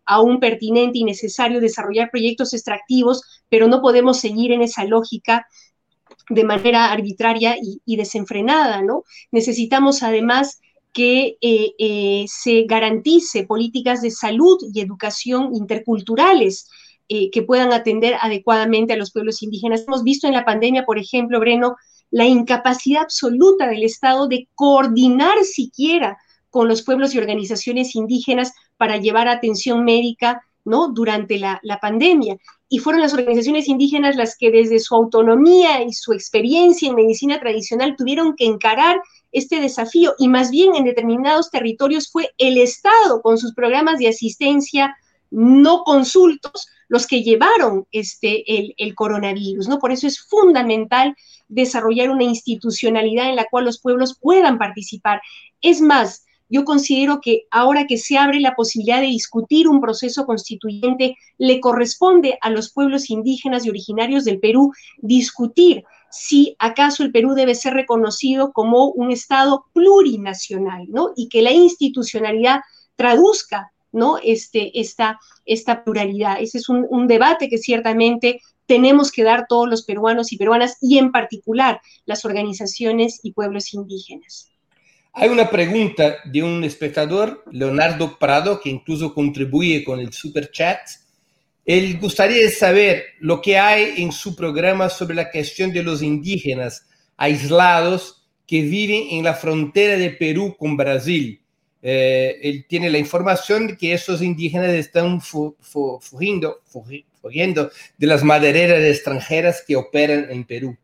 aún pertinente y necesario desarrollar proyectos extractivos, pero no podemos seguir en esa lógica de manera arbitraria y desenfrenada, ¿no? Necesitamos además que se garantice políticas de salud y educación interculturales que puedan atender adecuadamente a los pueblos indígenas. Hemos visto en la pandemia, por ejemplo, Breno, la incapacidad absoluta del Estado de coordinar siquiera con los pueblos y organizaciones indígenas para llevar atención médica, ¿no? Durante la pandemia. Y fueron las organizaciones indígenas las que desde su autonomía y su experiencia en medicina tradicional tuvieron que encarar este desafío, y más bien en determinados territorios fue el Estado con sus programas de asistencia no consultos los que llevaron el coronavirus, ¿no? Por eso es fundamental desarrollar una institucionalidad en la cual los pueblos puedan participar. Es más, yo considero que ahora que se abre la posibilidad de discutir un proceso constituyente, le corresponde a los pueblos indígenas y originarios del Perú discutir si acaso el Perú debe ser reconocido como un Estado plurinacional, ¿no? Y que la institucionalidad traduzca, ¿no? Esta pluralidad. Ese es un debate que ciertamente tenemos que dar todos los peruanos y peruanas, y en particular las organizaciones y pueblos indígenas. Hay una pregunta de un espectador, Leonardo Prado, que incluso contribuye con el super chat. Él gustaría saber lo que hay en su programa sobre la cuestión de los indígenas aislados que viven en la frontera de Perú con Brasil. Él tiene la información de que esos indígenas están fugiendo de las madereras extranjeras que operan en Perú.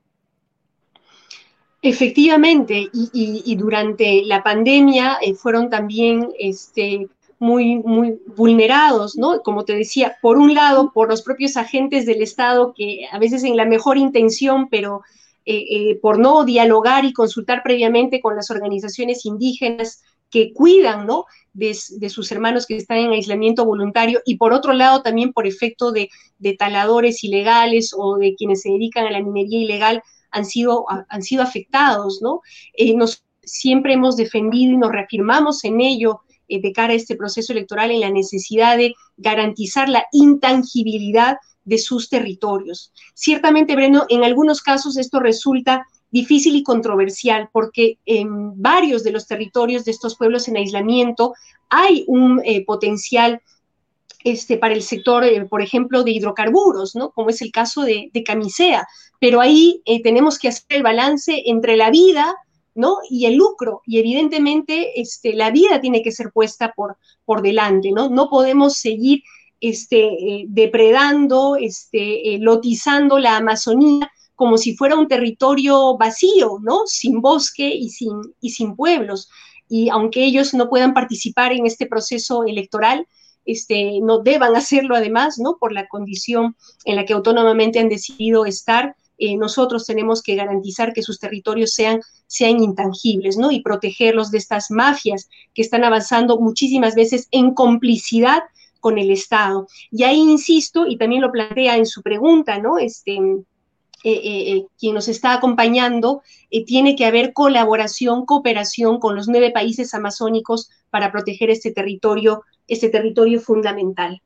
Efectivamente, y durante la pandemia fueron también muy vulnerados, ¿no? Como te decía, por un lado, por los propios agentes del Estado que a veces en la mejor intención, pero por no dialogar y consultar previamente con las organizaciones indígenas que cuidan, ¿no? De sus hermanos que están en aislamiento voluntario, y por otro lado también por efecto de taladores ilegales o de quienes se dedican a la minería ilegal, han sido afectados, ¿no? Siempre hemos defendido y nos reafirmamos en ello de cara a este proceso electoral, en la necesidad de garantizar la intangibilidad de sus territorios. Ciertamente, Breno, en algunos casos esto resulta difícil y controversial, porque en varios de los territorios de estos pueblos en aislamiento hay un potencial para el sector, por ejemplo, de hidrocarburos, ¿no? Como es el caso de Camisea. Pero ahí tenemos que hacer el balance entre la vida, ¿no? Y el lucro. Y evidentemente la vida tiene que ser puesta por delante, ¿no? No podemos seguir depredando, lotizando la Amazonía como si fuera un territorio vacío, ¿no? Sin bosque y sin pueblos. Y aunque ellos no puedan participar en este proceso electoral, no deban hacerlo además, ¿no? Por la condición en la que autónomamente han decidido estar, nosotros tenemos que garantizar que sus territorios sean intangibles, ¿no? Y protegerlos de estas mafias que están avanzando muchísimas veces en complicidad con el Estado. Y ahí insisto, y también lo plantea en su pregunta, ¿no? Quien nos está acompañando, tiene que haber colaboración, cooperación con los 9 países amazónicos para proteger este territorio fundamental.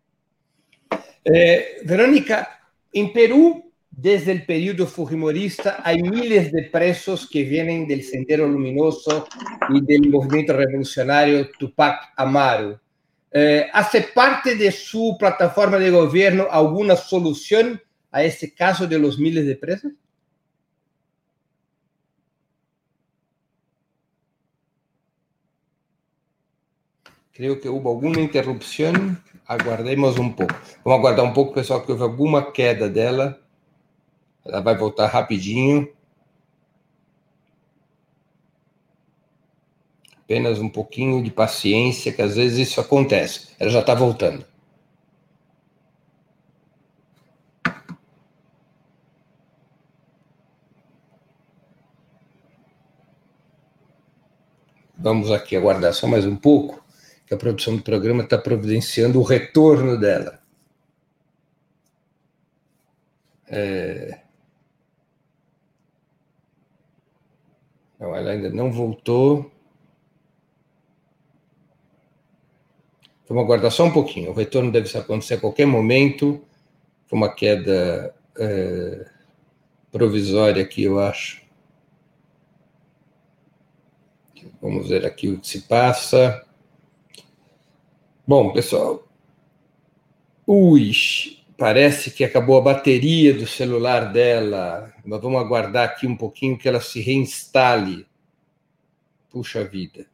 Verónica, en Perú, desde el periodo fujimorista, hay miles de presos que vienen del Sendero Luminoso y del movimiento revolucionario Tupac Amaru. ¿Hace parte de su plataforma de gobierno alguna solución a este caso de los miles de presos? Creo que hubo alguma interrupção. Aguardemos um pouco. Vamos aguardar um pouco, pessoal, que houve alguma queda dela. Ela vai voltar rapidinho. Apenas um pouquinho de paciência, que às vezes isso acontece. Ela já está voltando. Vamos aqui aguardar só mais um pouco, que a produção do programa está providenciando o retorno dela. Não, ela ainda não voltou. Vamos aguardar só um pouquinho. O retorno deve acontecer a qualquer momento. Foi uma queda provisória aqui, eu acho. Vamos ver aqui o que se passa. Bom, pessoal. Parece que acabou a bateria do celular dela. Mas vamos aguardar aqui um pouquinho que ela se reinstale. Puxa vida.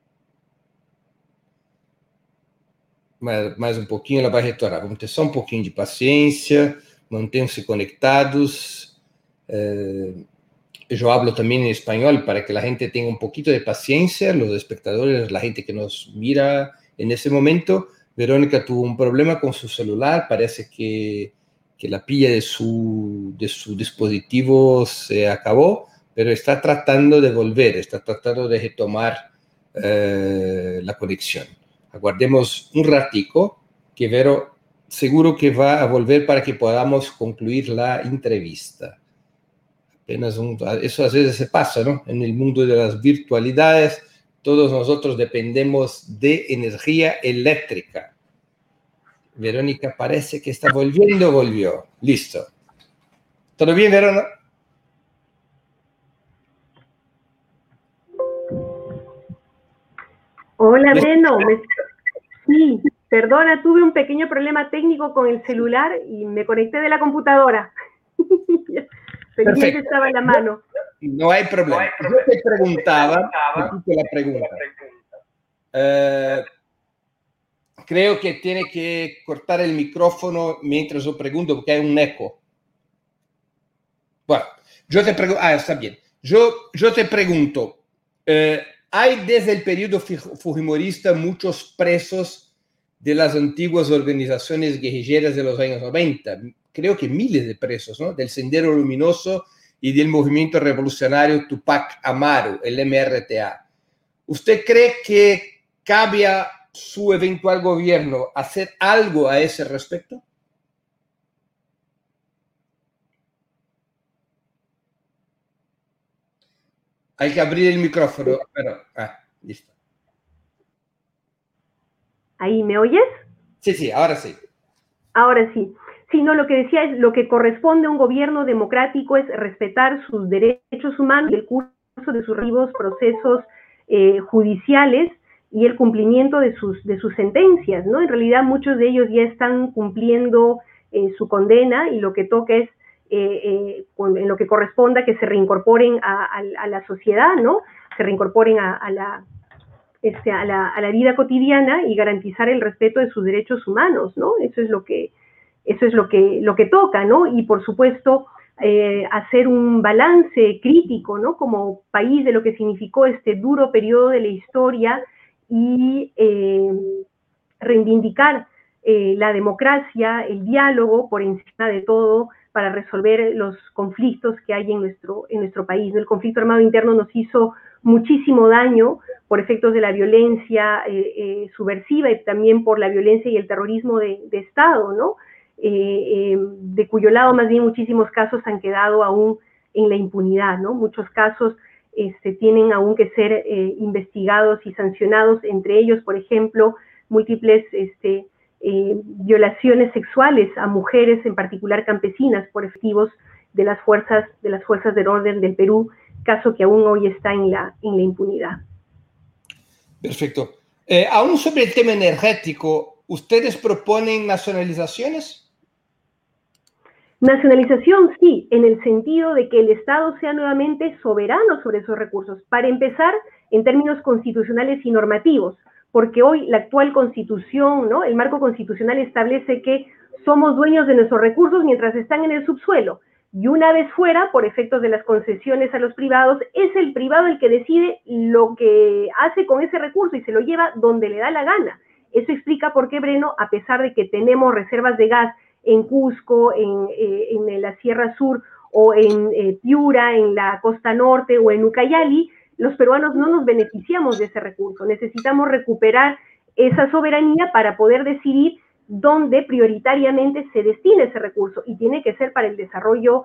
Mais um pouquinho, ela vai retornar. Vamos ter só um pouquinho de paciência, mantenham-se conectados. Eu hablo também em espanhol para que a gente tenha um pouquinho de paciência, os espectadores, a gente que nos mira nesse momento. Verónica tuvo un problema con su celular, parece que la pila de su dispositivo se acabó, pero está tratando de volver, está tratando de retomar la conexión. Aguardemos un ratico, que Vero seguro que va a volver para que podamos concluir la entrevista. Eso a veces se pasa, ¿no? En el mundo de las virtualidades, todos nosotros dependemos de energía eléctrica. Verónica parece que está volvió. Listo. ¿Todo bien, Verónica? Hola, Breno. Sí, perdona, tuve un pequeño problema técnico con el celular y me conecté de la computadora. Pendiente estaba en la mano. No hay problema. Yo te preguntaba, la pregunta. Creo que tiene que cortar el micrófono mientras yo pregunto porque hay un eco. Bueno, yo te pregunto, está bien. Yo te pregunto, hay desde el periodo fujimorista muchos presos de las antiguas organizaciones guerrilleras de los años 90. Creo que miles de presos, ¿no? Del Sendero Luminoso y del movimiento revolucionario Tupac Amaru, el MRTA. ¿Usted cree que cabe a su eventual gobierno hacer algo a ese respecto? Hay que abrir el micrófono. Bueno, listo. ¿Ahí me oyes? Sí, ahora sí. Ahora sí. Sí, no, lo que decía es, lo que corresponde a un gobierno democrático es respetar sus derechos humanos y el curso de sus respectivos procesos judiciales y el cumplimiento de sus sentencias, ¿no? En realidad muchos de ellos ya están cumpliendo su condena y lo que toca es, en lo que corresponda, que se reincorporen a la sociedad, ¿no? Se reincorporen a la vida cotidiana y garantizar el respeto de sus derechos humanos, ¿no? Eso es lo que toca, ¿no? Y por supuesto, hacer un balance crítico, ¿no? Como país de lo que significó este duro periodo de la historia y reivindicar la democracia, el diálogo por encima de todo para resolver los conflictos que hay en nuestro país, ¿no? El conflicto armado interno nos hizo muchísimo daño por efectos de la violencia subversiva y también por la violencia y el terrorismo de Estado, ¿no? De cuyo lado más bien muchísimos casos han quedado aún en la impunidad, ¿no? Muchos casos tienen aún que ser investigados y sancionados, entre ellos, por ejemplo, múltiples violaciones sexuales a mujeres, en particular campesinas, por efectivos de las fuerzas del orden del Perú, caso que aún hoy está en la impunidad. Perfecto. Aún sobre el tema energético, ¿ustedes proponen nacionalizaciones? Nacionalización, sí, en el sentido de que el Estado sea nuevamente soberano sobre esos recursos. Para empezar, en términos constitucionales y normativos, porque hoy la actual Constitución, ¿no? El marco constitucional establece que somos dueños de nuestros recursos mientras están en el subsuelo. Y una vez fuera, por efectos de las concesiones a los privados, es el privado el que decide lo que hace con ese recurso y se lo lleva donde le da la gana. Eso explica por qué, Breno, a pesar de que tenemos reservas de gas en Cusco, en la Sierra Sur, o en Piura, en la costa norte, o en Ucayali, los peruanos no nos beneficiamos de ese recurso. Necesitamos recuperar esa soberanía para poder decidir dónde prioritariamente se destina ese recurso, y tiene que ser para el desarrollo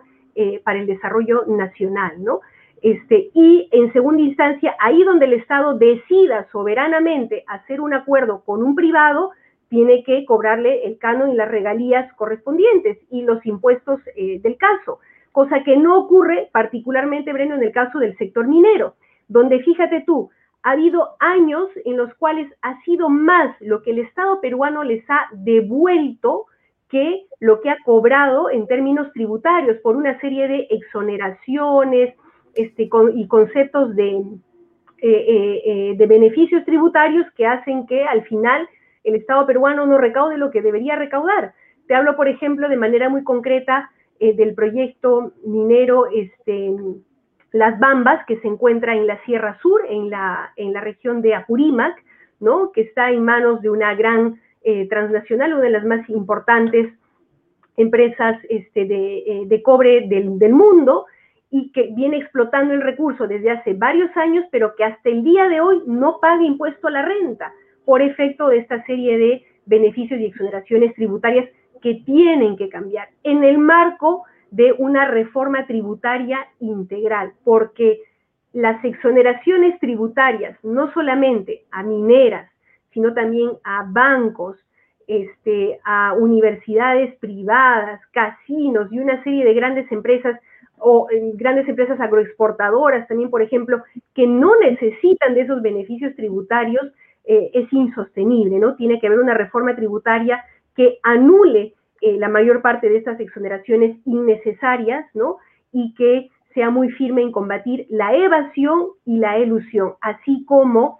nacional, ¿no? Y en segunda instancia, ahí donde el Estado decida soberanamente hacer un acuerdo con un privado, tiene que cobrarle el canon y las regalías correspondientes y los impuestos del caso, cosa que no ocurre particularmente, Breno, en el caso del sector minero, donde fíjate tú, ha habido años en los cuales ha sido más lo que el Estado peruano les ha devuelto que lo que ha cobrado en términos tributarios por una serie de exoneraciones y conceptos de beneficios tributarios que hacen que al final el Estado peruano no recaude lo que debería recaudar. Te hablo, por ejemplo, de manera muy concreta del proyecto minero Las Bambas, que se encuentra en la Sierra Sur, en la región de Apurímac, ¿no? Que está en manos de una gran transnacional, una de las más importantes empresas de cobre del mundo, y que viene explotando el recurso desde hace varios años, pero que hasta el día de hoy no paga impuesto a la renta, por efecto de esta serie de beneficios y exoneraciones tributarias que tienen que cambiar en el marco de una reforma tributaria integral, porque las exoneraciones tributarias, no solamente a mineras, sino también a bancos, a universidades privadas, casinos y una serie de grandes empresas o grandes empresas agroexportadoras también, por ejemplo, que no necesitan de esos beneficios tributarios, es insostenible, ¿no? Tiene que haber una reforma tributaria que anule la mayor parte de estas exoneraciones innecesarias, ¿no? Y que sea muy firme en combatir la evasión y la elusión, así como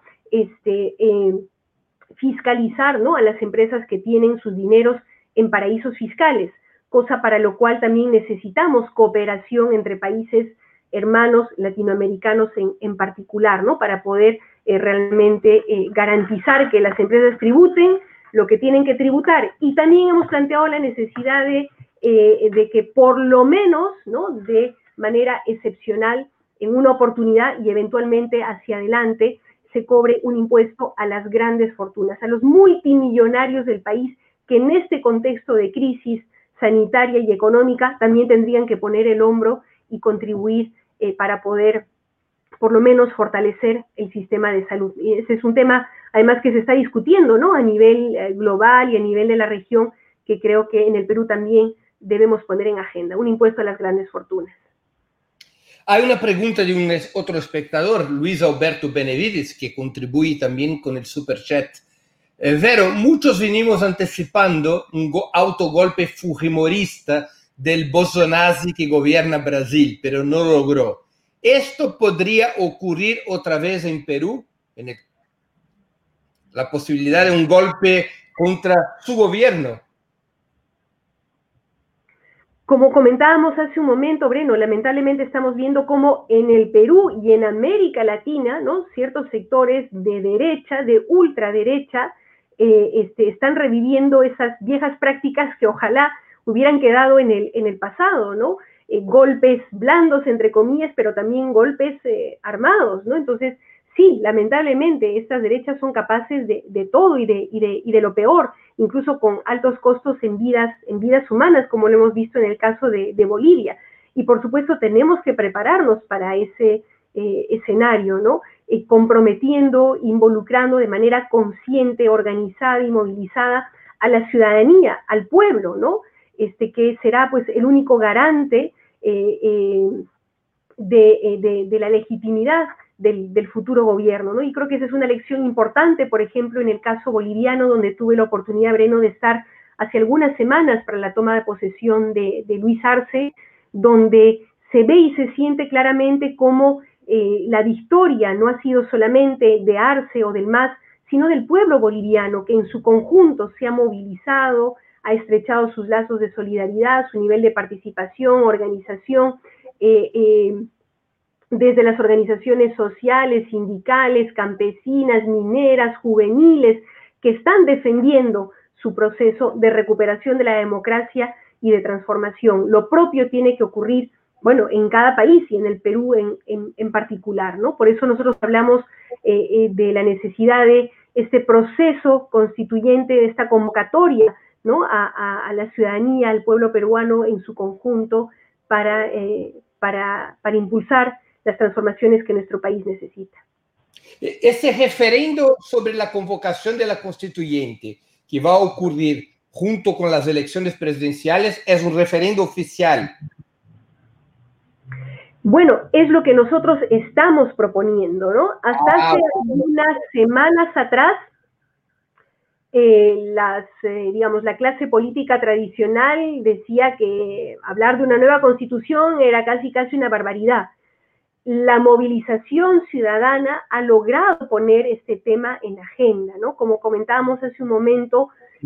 fiscalizar, ¿no? A las empresas que tienen sus dineros en paraísos fiscales, cosa para lo cual también necesitamos cooperación entre países hermanos latinoamericanos en particular, ¿no? Para poder realmente garantizar que las empresas tributen lo que tienen que tributar. Y también hemos planteado la necesidad de que por lo menos, ¿no? De manera excepcional, en una oportunidad y eventualmente hacia adelante, se cobre un impuesto a las grandes fortunas, a los multimillonarios del país, que en este contexto de crisis sanitaria y económica también tendrían que poner el hombro y contribuir para poder por lo menos fortalecer el sistema de salud. Y ese es un tema, además, que se está discutiendo, ¿no? A nivel global y a nivel de la región, que creo que en el Perú también debemos poner en agenda, un impuesto a las grandes fortunas. Hay una pregunta de otro espectador, Luis Alberto Benevides, que contribuye también con el superchat. Vero, muchos venimos anticipando un autogolpe fujimorista del Bolsonaro que gobierna Brasil, pero no logró. ¿Esto podría ocurrir otra vez en Perú? La posibilidad de un golpe contra su gobierno. Como comentábamos hace un momento, Breno, lamentablemente estamos viendo cómo en el Perú y en América Latina, ¿no? Ciertos sectores de derecha, de ultraderecha, están reviviendo esas viejas prácticas que ojalá hubieran quedado en el pasado, ¿no? Golpes blandos, entre comillas, pero también golpes armados, ¿no? Entonces, sí, lamentablemente, estas derechas son capaces de todo y de lo peor, incluso con altos costos en vidas humanas, como lo hemos visto en el caso de Bolivia. Y, por supuesto, tenemos que prepararnos para ese escenario, ¿no? Comprometiendo, involucrando de manera consciente, organizada y movilizada a la ciudadanía, al pueblo, ¿no? Que será, pues, el único garante de la legitimidad del futuro gobierno, ¿no? Y creo que esa es una lección importante, por ejemplo, en el caso boliviano, donde tuve la oportunidad, Breno, de estar hace algunas semanas para la toma de posesión de Luis Arce, donde se ve y se siente claramente cómo la victoria no ha sido solamente de Arce o del MAS, sino del pueblo boliviano, que en su conjunto se ha movilizado, ha estrechado sus lazos de solidaridad, su nivel de participación, organización, desde las organizaciones sociales, sindicales, campesinas, mineras, juveniles, que están defendiendo su proceso de recuperación de la democracia y de transformación. Lo propio tiene que ocurrir, bueno, en cada país y en el Perú en particular, ¿no? Por eso nosotros hablamos de la necesidad de este proceso constituyente, de esta convocatoria, ¿no? A la ciudadanía, al pueblo peruano en su conjunto para impulsar las transformaciones que nuestro país necesita. Ese referendo sobre la convocación de la constituyente, que va a ocurrir junto con las elecciones presidenciales es un referendo oficial. Bueno, es lo que nosotros estamos proponiendo, ¿no? Hasta hace unas semanas atrás, digamos, la clase política tradicional decía que hablar de una nueva constitución era casi una barbaridad. La movilización ciudadana ha logrado poner este tema en la agenda, ¿no? Como comentábamos hace un momento,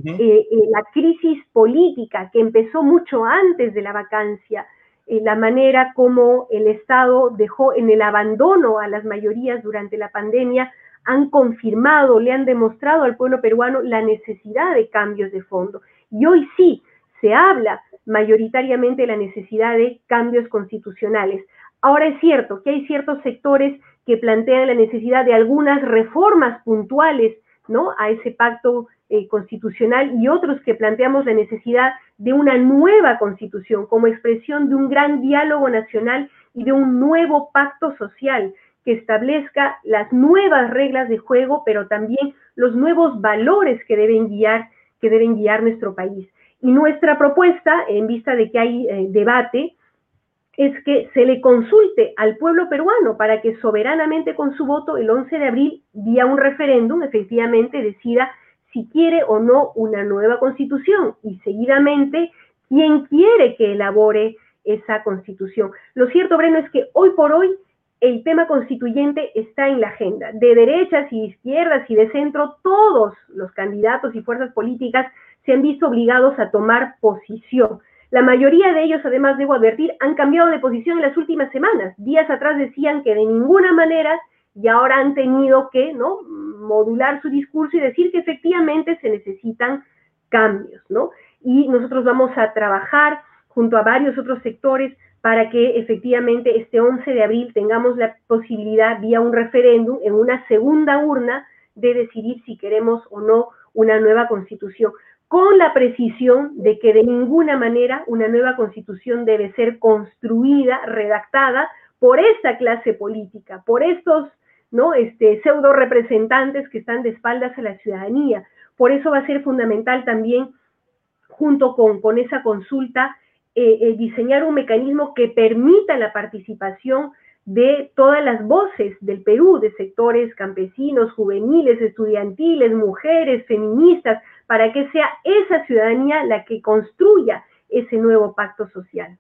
la crisis política que empezó mucho antes de la vacancia, la manera como el Estado dejó en el abandono a las mayorías durante la pandemia, han confirmado, le han demostrado al pueblo peruano la necesidad de cambios de fondo. Y hoy sí, se habla mayoritariamente de la necesidad de cambios constitucionales. Ahora es cierto que hay ciertos sectores que plantean la necesidad de algunas reformas puntuales, ¿no?, a ese pacto constitucional, y otros que planteamos la necesidad de una nueva constitución como expresión de un gran diálogo nacional y de un nuevo pacto social que establezca las nuevas reglas de juego, pero también los nuevos valores que deben guiar nuestro país. Y nuestra propuesta, en vista de que hay debate, es que se le consulte al pueblo peruano para que soberanamente con su voto el 11 de abril, vía un referéndum, efectivamente decida si quiere o no una nueva constitución y seguidamente quién quiere que elabore esa constitución. Lo cierto, Breno, es que hoy por hoy el tema constituyente está en la agenda. De derechas y izquierdas y de centro, todos los candidatos y fuerzas políticas se han visto obligados a tomar posición. La mayoría de ellos, además, debo advertir, han cambiado de posición en las últimas semanas. Días atrás decían que de ninguna manera, y ahora han tenido que, ¿no?, modular su discurso y decir que efectivamente se necesitan cambios, ¿no? Y nosotros vamos a trabajar junto a varios otros sectores para que efectivamente este 11 de abril tengamos la posibilidad, vía un referéndum, en una segunda urna, de decidir si queremos o no una nueva constitución, con la precisión de que de ninguna manera una nueva constitución debe ser construida, redactada por esta clase política, por estos, ¿no?, pseudo representantes que están de espaldas a la ciudadanía. Por eso va a ser fundamental también, junto con esa consulta, diseñar un mecanismo que permita la participación de todas las voces del Perú, de sectores campesinos, juveniles, estudiantiles, mujeres, feministas, para que sea esa ciudadanía la que construya ese nuevo pacto social.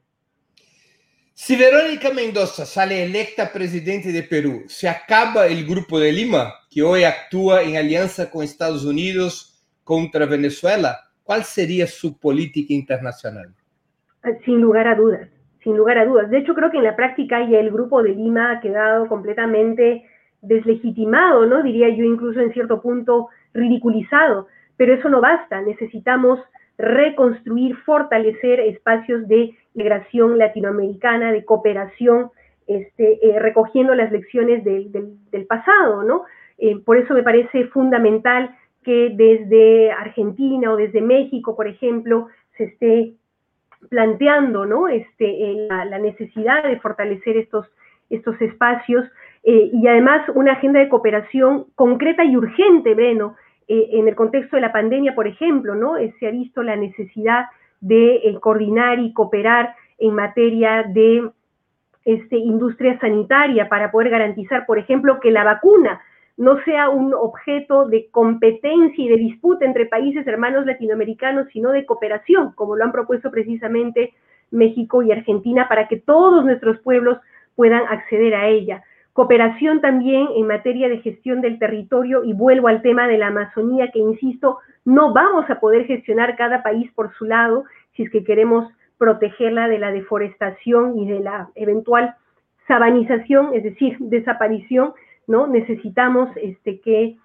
Si Verónica Mendoza sale electa presidente de Perú, ¿se acaba el Grupo de Lima, que hoy actúa en alianza con Estados Unidos contra Venezuela? ¿Cuál sería su política internacional? Sin lugar a dudas, sin lugar a dudas. De hecho, creo que en la práctica ya el Grupo de Lima ha quedado completamente deslegitimado, ¿no? Diría yo, incluso en cierto punto ridiculizado. Pero eso no basta, necesitamos reconstruir, fortalecer espacios de integración latinoamericana, de cooperación, recogiendo las lecciones del pasado, ¿no? Por eso me parece fundamental que desde Argentina o desde México, por ejemplo, se esté planteando, ¿no?, la necesidad de fortalecer estos espacios y además una agenda de cooperación concreta y urgente, Breno. En el contexto de la pandemia, por ejemplo, ¿no?, se ha visto la necesidad de coordinar y cooperar en materia de industria sanitaria para poder garantizar, por ejemplo, que la vacuna no sea un objeto de competencia y de disputa entre países hermanos latinoamericanos, sino de cooperación, como lo han propuesto precisamente México y Argentina, para que todos nuestros pueblos puedan acceder a ella. Cooperación también en materia de gestión del territorio, y vuelvo al tema de la Amazonía, que insisto, no vamos a poder gestionar cada país por su lado si es que queremos protegerla de la deforestación y de la eventual sabanización, es decir, desaparición, ¿no? Necesitamos que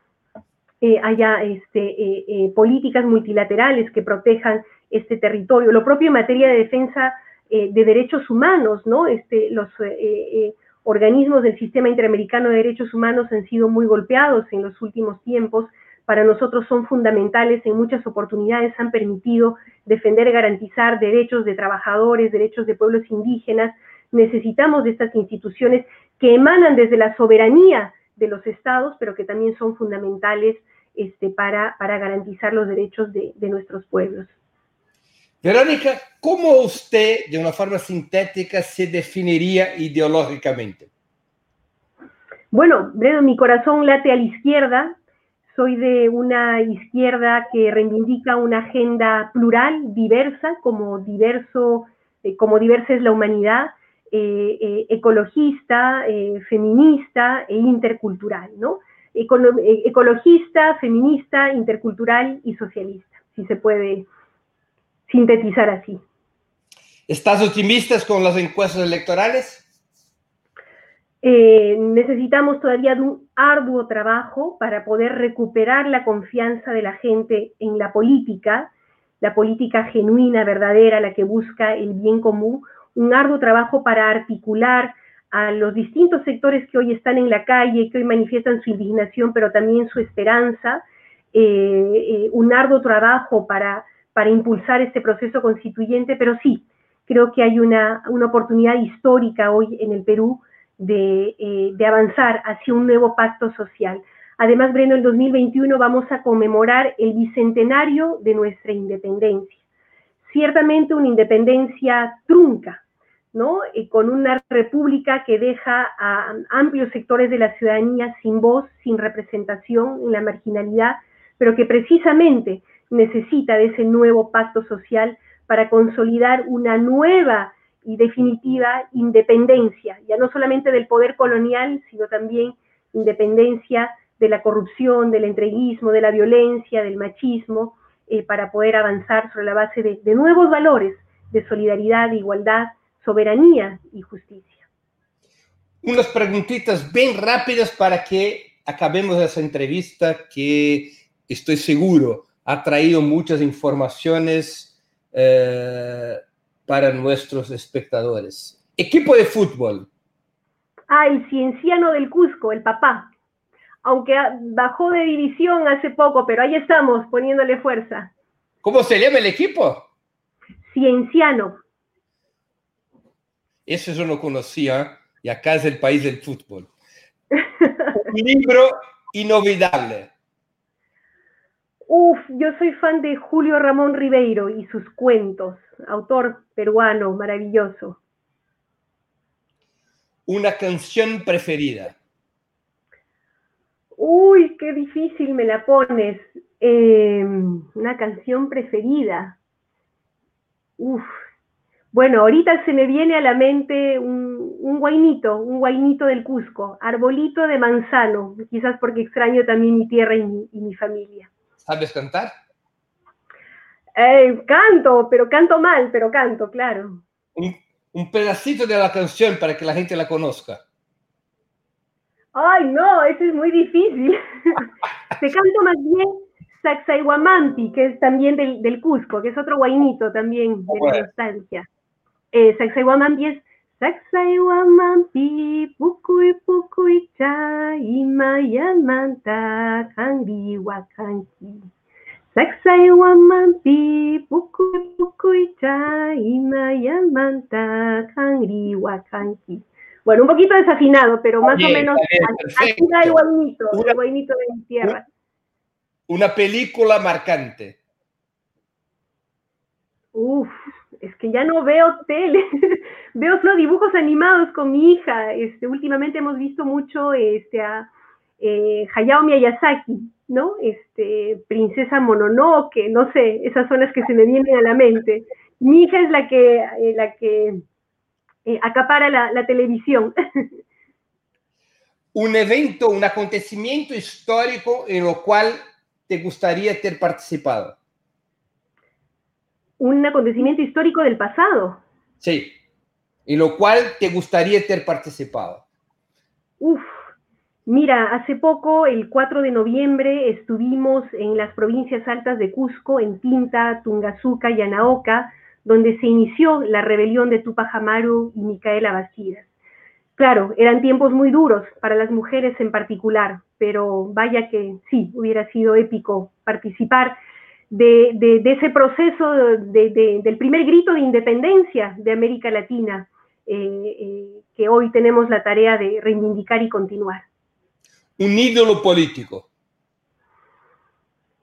haya políticas multilaterales que protejan este territorio. Lo propio en materia de defensa de derechos humanos, ¿no? Los organismos del Sistema Interamericano de Derechos Humanos han sido muy golpeados en los últimos tiempos. Para nosotros son fundamentales, en muchas oportunidades han permitido defender y garantizar derechos de trabajadores, derechos de pueblos indígenas. Necesitamos de estas instituciones que emanan desde la soberanía de los estados, pero que también son fundamentales para garantizar los derechos de nuestros pueblos. Verónica, ¿cómo usted, de una forma sintética, se definiría ideológicamente? Bueno, Breno, mi corazón late a la izquierda. Soy de una izquierda que reivindica una agenda plural, diversa, como diversa es la humanidad, ecologista, feminista e intercultural, ¿no? Ecologista, feminista, intercultural y socialista, si se puede sintetizar así. ¿Estás optimista con las encuestas electorales? Necesitamos todavía de un arduo trabajo para poder recuperar la confianza de la gente en la política genuina, verdadera, la que busca el bien común, un arduo trabajo para articular a los distintos sectores que hoy están en la calle, que hoy manifiestan su indignación, pero también su esperanza, un arduo trabajo para impulsar este proceso constituyente, pero sí, creo que hay una oportunidad histórica hoy en el Perú de avanzar hacia un nuevo pacto social. Además, Breno, en 2021 vamos a conmemorar el bicentenario de nuestra independencia. Ciertamente una independencia trunca, ¿no? Con una república que deja a amplios sectores de la ciudadanía sin voz, sin representación, en la marginalidad, pero que precisamente necesita de ese nuevo pacto social para consolidar una nueva y definitiva independencia, ya no solamente del poder colonial, sino también independencia de la corrupción, del entreguismo, de la violencia, del machismo, para poder avanzar sobre la base de nuevos valores de solidaridad, de igualdad, soberanía y justicia. Unas preguntitas bien rápidas para que acabemos esa entrevista que estoy seguro ha traído muchas informaciones para nuestros espectadores. Equipo de fútbol. El Cienciano del Cusco, el papá. Aunque bajó de división hace poco, pero ahí estamos, poniéndole fuerza. ¿Cómo se llama el equipo? Cienciano. Eso yo no conocía, y acá es el país del fútbol. Un libro inolvidable. Yo soy fan de Julio Ramón Ribeiro y sus cuentos, autor peruano maravilloso. Una canción preferida. Uy, qué difícil me la pones. Una canción preferida. Bueno, ahorita se me viene a la mente un guainito del Cusco, Arbolito de Manzano, quizás porque extraño también mi tierra y mi familia. ¿Sabes cantar? Canto, pero canto mal, pero canto, claro. Un pedacito de la canción para que la gente la conozca. Ay, no, eso es muy difícil. Te canto más bien Sacsayhuamampi, que es también del Cusco, que es otro guainito también de la nostalgia. Sacsayhuamampi es Sacsayhuamampi, pucuy pucuy cha, imayamanta, cangi wakanki. Sacsayhuamampi, pucuy pucuy cha, imayamanta, cangi wakanki. Bueno, un poquito desafinado, pero más o menos así da el guainito de mi tierra. Una película marcante. Es que ya no veo tele, veo solo dibujos animados con mi hija. Últimamente hemos visto mucho a Hayao Miyazaki, ¿no? Princesa Mononoke, no sé, esas son las que se me vienen a la mente. Mi hija es la que acapara la televisión. Un evento, un acontecimiento histórico en lo cual te gustaría haber participado. Un acontecimiento histórico del pasado. Sí, en lo cual te gustaría haber participado. Mira, hace poco, el 4 de noviembre, estuvimos en las provincias altas de Cusco, en Tinta, Tungazuca y Anaoca, donde se inició la rebelión de Tupac Amaru y Micaela Bastidas. Claro, eran tiempos muy duros para las mujeres en particular, pero vaya que sí, hubiera sido épico participar de ese proceso del primer grito de independencia de América Latina, que hoy tenemos la tarea de reivindicar y continuar. Un ídolo político.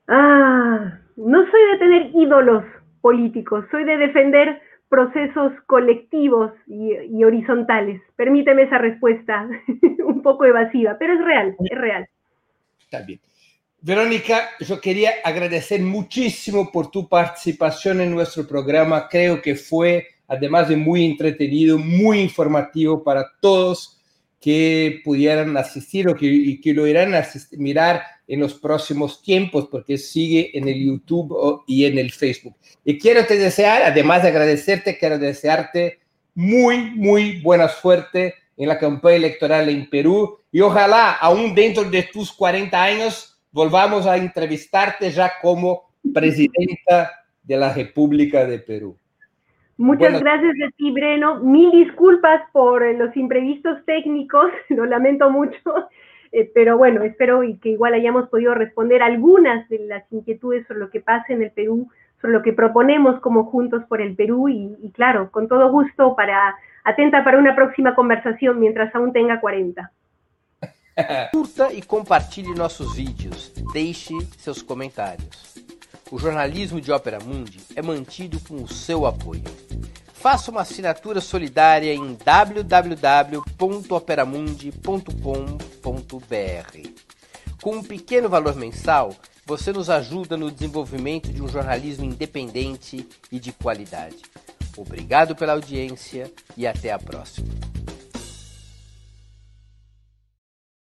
No soy de tener ídolos políticos, soy de defender procesos colectivos y horizontales. Permíteme esa respuesta un poco evasiva, pero es real, es real. Está bien. Verónica, yo quería agradecer muchísimo por tu participación en nuestro programa. Creo que fue, además de muy entretenido, muy informativo para todos que pudieran asistir y que lo irán a mirar en los próximos tiempos, porque sigue en el YouTube y en el Facebook. Y quiero te desear, además de agradecerte, quiero desearte muy, muy buena suerte en la campaña electoral en Perú, y ojalá, aún dentro de tus 40 años, volvamos a entrevistarte ya como presidenta de la República de Perú. Muchas gracias a ti, Breno. Mil disculpas por los imprevistos técnicos, lo lamento mucho, pero bueno, espero que igual hayamos podido responder algunas de las inquietudes sobre lo que pasa en el Perú, sobre lo que proponemos como Juntos por el Perú, y claro, con todo gusto, atenta para una próxima conversación mientras aún tenga 40. Curta e compartilhe nossos vídeos, deixe seus comentários. O jornalismo de Ópera Mundi é mantido com o seu apoio. Faça uma assinatura solidária em www.operamundi.com.br. Com um pequeno valor mensal, você nos ajuda no desenvolvimento de um jornalismo independente e de qualidade. Obrigado pela audiência e até a próxima.